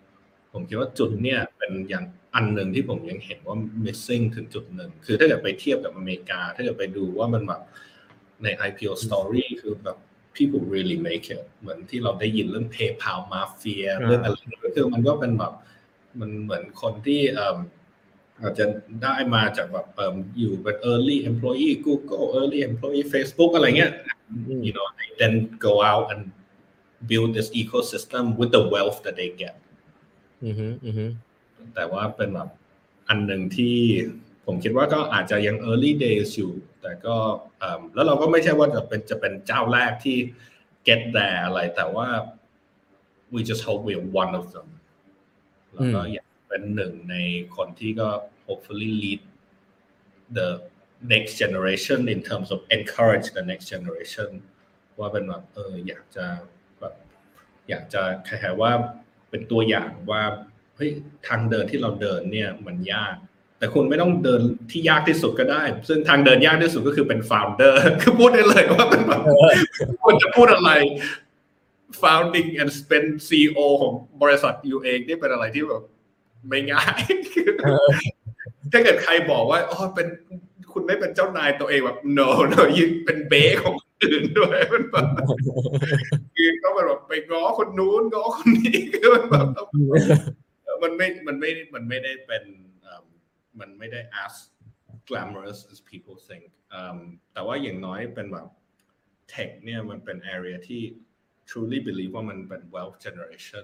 ผมคิดว่าจุดเนี่ยเป็นอย่างอันหนึ่งที่ผมยังเห็นว่า missing ถึงจุดหนึ่งคือถ้าเกิดไปเทียบกับอเมริกาถ้าเกิดไปดูว่ามันแบบใน ไอ พี โอ story คือแบบ people really make it เหมือนที่เราได้ยินเรื่อง PayPal Mafia เรื่องอะไรก็คือมันก็เป็นแบบมันเหมือนคนที่อาจจะได้มาจากแบบอยู่เป็น early employee Google early employee Facebook อะไรเงี้ย you know they then go out and build this ecosystem with the wealth that they get อือฮึอือฮึแต่ว่าเป็นแบบอันหนึ่งที่ผมคิดว่าก็อาจจะยัง early days อยู่แต่ก็แล้วเราก็ไม่ใช่ว่าจะเป็นจะเป็นเจ้าแรกที่ get there อะไรแต่ว่า we just hope we're one of them แล้วก็อยากเป็นหนึ่งในคนที่ก็ hopefully lead the next generation in terms of encourage the next generation ว่าเป็นแบบเอออยากจะแบบอยากจะคล้ายๆว่าเป็นตัวอย่างว่าเฮ้ยทางเดินที่เราเดินเนี่ยมันยากแต่คุณไม่ต้องเดินที่ยากที่สุดก็ได้ซึ่งทางเดินยากที่สุดก็คือเป็น founder คือพูดได้เลยว่าเป็นแบบคุณจะพูดอะไร founding and เป็น ซี อี โอ ของบริษัทอยู่เองนี่เป็นอะไรที่แบบไม่ง่ายถ้าเกิดใครบอกว่าอ๋อเป็นคุณไม่เป็นเจ้านายตัวเองแบบ no no ยิ่งเป็นเบสของคนอื่นด้วยมันแบบคือต้องแบบไปง้อคนนู้นง้อคนนี้คือมันแบบมันไม่มันไม่มันไม่ได้เป็นมันไม่ได้ as glamorous as people think แต่ว่าอย่างน้อยเป็นแบบ tech เนี่ยมันเป็น area ที่ truly believe ว่ามันเป็น wealth generation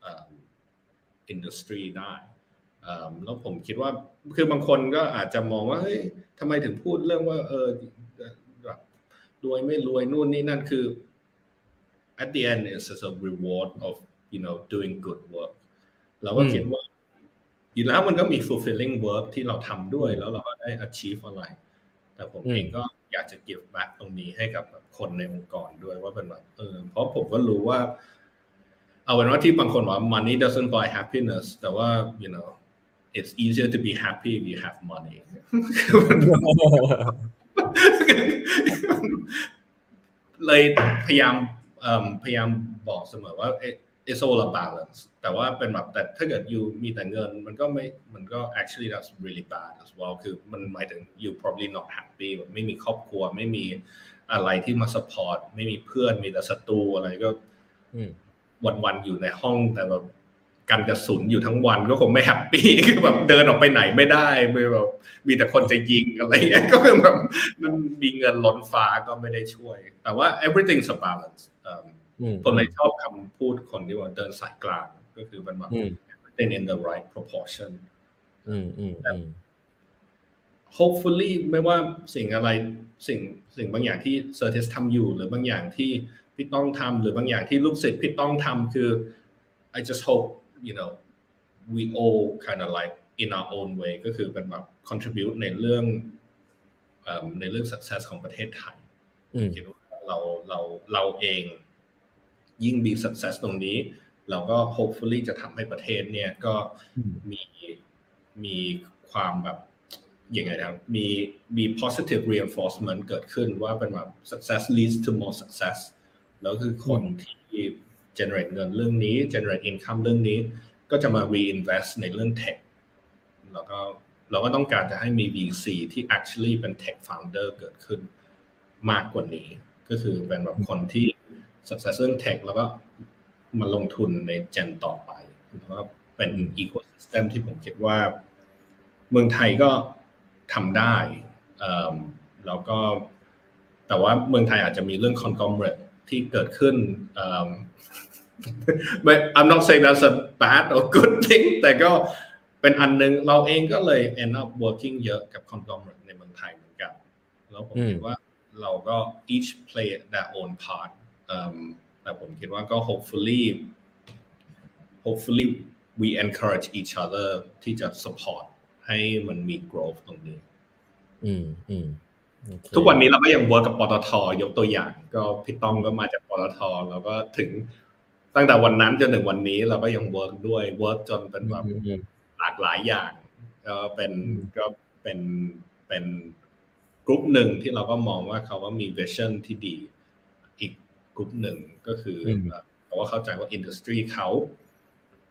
industry ได้แล้วผมคิดว่าคือบางคนก็อาจจะมองว่าเฮ้ยทำไมถึงพูดเรื่องว่าเออแบบรวยไม่รวยนู่นนี่นั่นคือ at the end it's just a reward of you know doing good work เราก็คิดว่าอยู่แล้วมันก็มี fulfilling work ที่เราทำด้วยแล้วเราก็ได้ achieve อะไรแต่ผมเองก็อยากจะ give back ตรงนี้ให้กับคนในองค์กรด้วยว่าเป็นแบบเออเพราะผมก็รู้ว่าเอาเป็นว่าที่บางคนว่า money doesn't buy happiness แต่ว่า you know it's easier to be happy if you have money เลยพยายามพยายามบอกเสมอว่า it's all a balance แต่ว่าเป็นแบบแต่ถ้าเกิด you มีแต่เงินมันก็ไม่มันก็ actually that's really bad as well คือมันหมายถึง you probably not happy แบบไม่มีครอบครัวไม่มีอะไรที่มา support ไม่มีเพื่อนมีแต่ศัตรูอะไรก็วันๆอยู่ในห้องแต่แบบกันกระสุนอยู่ทั้งวันก็คงไม่แฮปปี้คือแบบเดินออกไปไหนไม่ได้แบบมีแต่คนจะยิงอะไรอย่างเงี้ยก็คือแบบมันมีเงินล้นฟ้าก็ไม่ได้ช่วยแต่ว่า everything's a balance ผมเลยชอบคำพูดคนที่ว่าเดินสายกลางก็คือมันแบบ everything in the right proportion hopefully ไม่ว่าสิ่งอะไรสิ่งสิ่งบางอย่างที่เซอร์ทิสทำอยู่หรือบางอย่างที่พี่ต้องทำหรือบางอย่างที่ลูกศิษย์พี่ต้องทำคือ I just hope you know we all kind of like in our own way ก็คือเป็นแบบ contribute ในเรื่องในเรื่อง success ของประเทศไทยคิดว่าเราเราเราเองยิ่งมี success ตรงนี้เราก็ hopefully จะทำให้ประเทศเนี่ยก็มีมีความแบบยังไงนะมีมี positive reinforcement เกิดขึ้นว่าเป็นแบบ success leads to more success แล้วคือคนที่ generate เงินเรื่องนี้ generate income เรื่องนี้ก็จะมา reinvest ในเรื่อง tech แล้วก็เราก็ต้องการจะให้มี วี ซี ที่ actually เป็น tech founder เกิดขึ้นมากกว่านี้ก็คือเป็นแบบคนที่ success เรื่อง tech แล้วก็มาลงทุนใน gen ต่อไปแล้วก็เป็น ecosystem ที่ผมคิดว่าเมืองไทยก็ทำได้แล้วก็แต่ว่าเมืองไทยอาจจะมีเรื่อง conglomerate ที่เกิดขึ้น but I'm not saying that's a bad or good thing แต่ก็เป็นอันนึงเราเองก็เลย end up working เยอะกับ conglomerate ในเมืองไทยเหมือนกันแล้วผมคิดว่าเราก็ each play their own part แต่ผมคิดว่าก็ hopefully hopefully we encourage each other ที่จะ support ให้มันมี growth ตรงนี้อืมอืมทุกวันนี้เราก็ยัง work กับปตท.ยกตัวอย่างก็พี่ต้องก็มาจากปตท.แล้วก็ถึงตั้งแต่วันนั้นจนถึงวันนี้เราก็ยัง work ด้วย work จนเป็นแบบหลากหลายอย่างก็เป็นก็เป็นเป็นกลุ่มหนึ่งที่เราก็มองว่าเขาว่ามี vision ที่ดีอีกกลุ่มหนึ่งก็คือเพราะว่าเข้าใจว่า industry เขา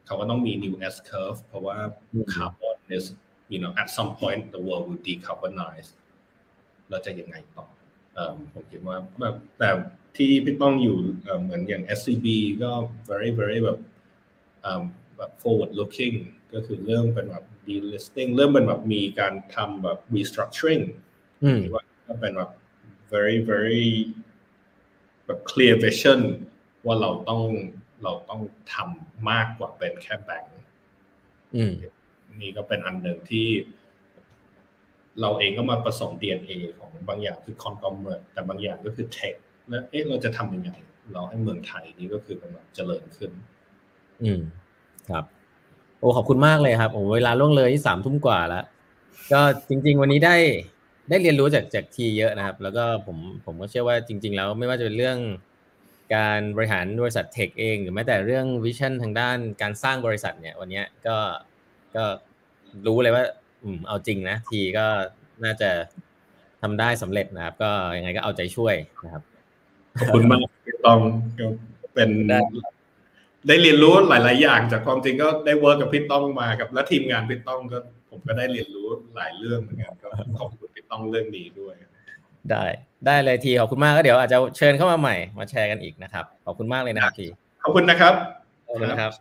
เขาก็ต้องมี new S curve เพราะว่า carbon is you know at some point the world will decarbonize เราจะยังไงต่อผมคิดว่าแบบแต่ที่พี่ต้องอยู่เหมือนอย่าง เอส ซี บี ก็ very very แบบแบบ forward looking ก็คือเริ่มเป็นแบบ delisting เริ่มเป็นแบบมีการทำแบบ restructuring ว่าก็เป็นแบบ very very แบบ clear vision ว่าเราต้องเราต้องทำมากกว่าเป็นแค่แบงก์นี่ก็เป็นอันหนึ่งที่เราเองก็มาผสม ดี เอ็น เอ ของบางอย่างคือ conglomerate แต่บางอย่างก็คือ tech แล้วเอ๊ะเราจะทำยังไงเราให้เมืองไทยนี่ก็คือเป็นแบบเจริญขึ้นอืมครับโอ้ขอบคุณมากเลยครับโอ้เวลาล่วงเลยที่สามทุ่มกว่าแล้วก็จริงๆวันนี้ได้ได้เรียนรู้จากจากทีเยอะนะครับแล้วก็ผมผมก็เชื่อว่าจริงๆแล้วไม่ว่าจะเป็นเรื่องการบริหารบริษัทเทคเองหรือแม้แต่เรื่องวิชั่นทางด้านการสร้างบริษัทเนี่ยวันนี้ก็ก็รู้เลยว่าอืมเอาจริงนะทีก็น่าจะทำได้สำเร็จนะครับก็ยังไงก็เอาใจช่วยนะครับขอบคุณมากพี่ต้องเป็นได้เรียนรู้หลายๆอย่างจากความจริงก็ได้เวิร์กกับพี่ต้องมากับและทีมงานพี่ต้องก็ผมก็ได้เรียนรู้หลายเรื่องเหมือนกันก็ขอบคุณพี่ต้องเรื่องนี้ด้วยได้ได้เลยทีขอบคุณมากก็เดี๋ยวอาจจะเชิญเข้ามาใหม่มาแชร์กันอีกนะครับขอบคุณมากเลยนะครับทีขอบคุณนะครับขอบคุณนะครับ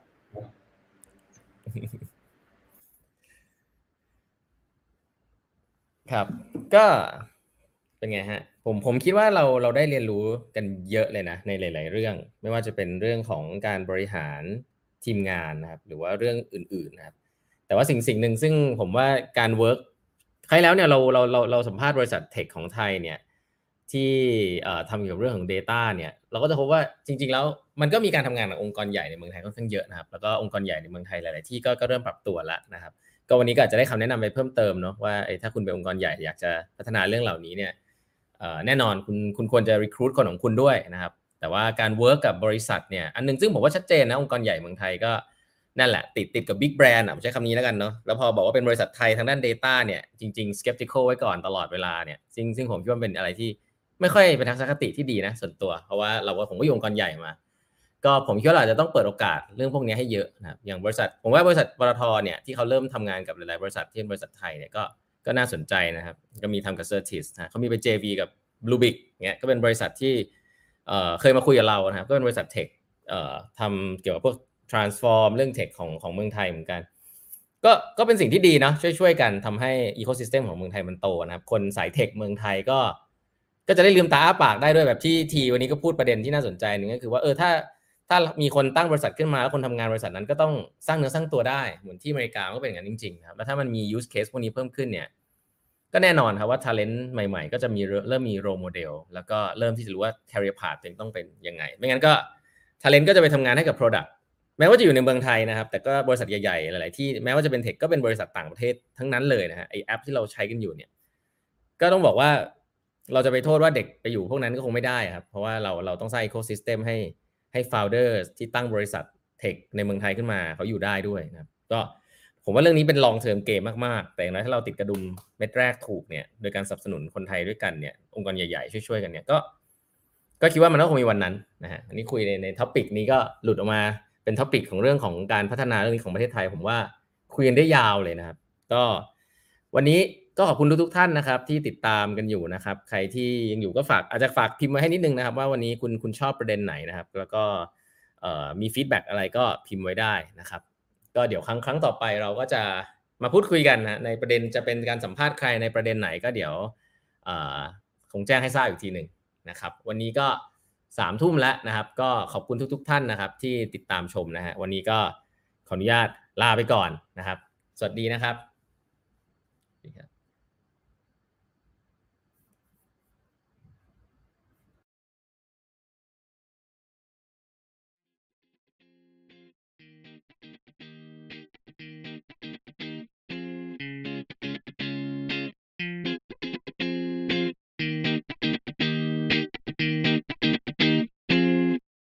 ครับก็เป็นไงฮะผมผมคิดว่าเราเราได้เรียนรู้กันเยอะเลยนะในหลายๆเรื่องไม่ว่าจะเป็นเรื่องของการบริหารทีมงานนะครับหรือว่าเรื่องอื่นๆนะครับแต่ว่าสิ่งสิ่งหนึ่งซึ่งผมว่าการเวิร์กครั้งแล้วเนี่ยเราเราเราเราสัมภาษณ์บริษัทเทคของไทยเนี่ยที่ทำเกี่ยวกับเรื่องของ data เนี่ยเราก็จะพบว่าจริงๆแล้วมันก็มีการทำงานกับองค์กรใหญ่ในเมืองไทยค่อนข้างเยอะนะครับแล้วก็องค์กรใหญ่ในเมืองไทยหลายๆที่ก็ก็เริ่มปรับตัวแล้วนะครับก็วันนี้ก็อาจจะได้คำแนะนำไปเพิ่มเติมเนาะว่าถ้าคุณเป็นองค์กรใหญ่อยากจะพัฒนาเรื่องเหล่านี้เนี่ยแน่นอนคุณคุณควรจะ recruit คนของคุณด้วยนะครับแต่ว่าการ work กับบริษัทเนี่ยอันนึงซึ่งผมว่าชัดเจนนะองค์กรใหญ่เมืองไทยก็นั่นแหละติดติดกับ big brand อ่ะผมใช้คำนี้แล้วกันเนาะแล้วพอบอกว่าเป็นบริษัทไทยทางด้าน data เนี่ยจริงๆ skeptical ไว้ก่อนตลอดเวลาเนี่ยซึ่งซึ่งผมคิดว่าเป็นอะไรที่ไม่ค่อยเป็นทัศนคติที่ดีนะส่วนตัวเพราะว่าเราว่าผมก็อยู่องค์กรใหญ่มาก็ผมคิดว่าเราจะต้องเปิดโอกาสเรื่องพวกนี้ให้เยอะนะครับอย่างบริษัทผมว่าบริษัทปตท.เนี่ยที่เขาเริ่มทำงานกับหลายๆบริษัทที่เป็นบริษัทไทยเนี่ยก็ก็น่าสนใจนะครับก็มีทำกับ Certis นะเขามีไป เจ วี กับ Bluebic เนี่ยก็เป็นบริษัทที่เอ่อเคยมาคุยกับเรานะครับก็เป็นบริษัทเทคเอ่อทำเกี่ยวกับพวก transform เรื่องเทคของของเมืองไทยเหมือนกันก็ก็เป็นสิ่งที่ดีเนาะช่วยๆกันทำให้ ecosystem ของเมืองไทยมันโตนะครับคนสายเทคเมืองไทยก็ก็จะได้ลืมตาอ้าปากได้ด้วยแบบที่ทีวันนี้ก็พูดประเด็นที่น่าสนใจนึงก็คือว่าเออถ้าถ้ามีคนตั้งบริษัทขึ้นมาแล้วคนทำงานบริษัทนั้นก็ต้องสร้างเนื้อสร้างตัวได้เหมือนที่อเมริกาก็เป็นอย่างนั้นจริงๆครับแล้วถ้ามันมี use case พวกนี้เพิ่มขึ้นเนี่ยก็แน่นอนครับว่า talent ใหม่ๆก็จะมีเริ่มมี role model แล้วก็เริ่มที่จะรู้ว่า career path ตัวเองต้องเป็นยังไงไม่งั้นก็ talent ก็จะไปทำงานให้กับ product แม้ว่าจะอยู่ในเมืองไทยนะครับแต่ก็บริษัทใหญ่ๆหลายๆที่แม้ว่าจะเป็นเทคก็เป็นบริษัทต่างประเทศทั้งนั้นเลยนะฮะไอแอปที่เราใช้กันอยู่เนี่ยก็ต้องบอกว่าเราจะไปโทษว่าเด็กไปอยู่พวกนั้นก็คงไม่ได้ครับเพราะว่าเราเราต้องสร้าง ecosystem ให้ให้ founder ที่ตั้งบริษัทเทคในเมืองไทยขึ้นมาเขาอยู่ได้ด้วยนะครับก็ผมว่าเรื่องนี้เป็น long term game มากๆแต่อย่างน้อยถ้าเราติดกระดุมเม็ดแรกถูกเนี่ยโดยการสนับสนุนคนไทยด้วยกันเนี่ยองค์กรใหญ่ๆช่วยๆกันเนี่ยก็ก็คิดว่ามันก็คงมีวันนั้นนะฮะอันนี้คุยในในท็อปิกนี้ก็หลุดออกมาเป็นท็อปิกของเรื่องของการพัฒนาเรื่องนี้ของประเทศไทยผมว่าคุยกันได้ยาวเลยนะครับก็วันนี้ก็ขอบคุณทุกๆท่านนะครับที่ติดตามกันอยู่นะครับใครที่ยังอยู่ก็ฝากอาจจะฝากพิมพ์มาให้นิดนึงนะครับว่าวันนี้คุณคุณชอบประเด็นไหนนะครับแล้วก็มีฟีดแบ็กอะไรก็พิมพ์ไว้ได้นะครับก็เดี๋ยวครั้งครั้งต่อไปเราก็จะมาพูดคุยกันนะในประเด็นจะเป็นการสัมภาษณ์ใครในประเด็นไหนก็เดี๋ยวคงแจ้งให้ทราบอีกทีหนึ่งนะครับวันนี้ก็สามทุ่มแล้วนะครับก็ขอบคุณทุกๆท่านนะครับที่ติดตามชมนะฮะวันนี้ก็ขออนุญาตลาไปก่อนนะครับสวัสดีนะครับ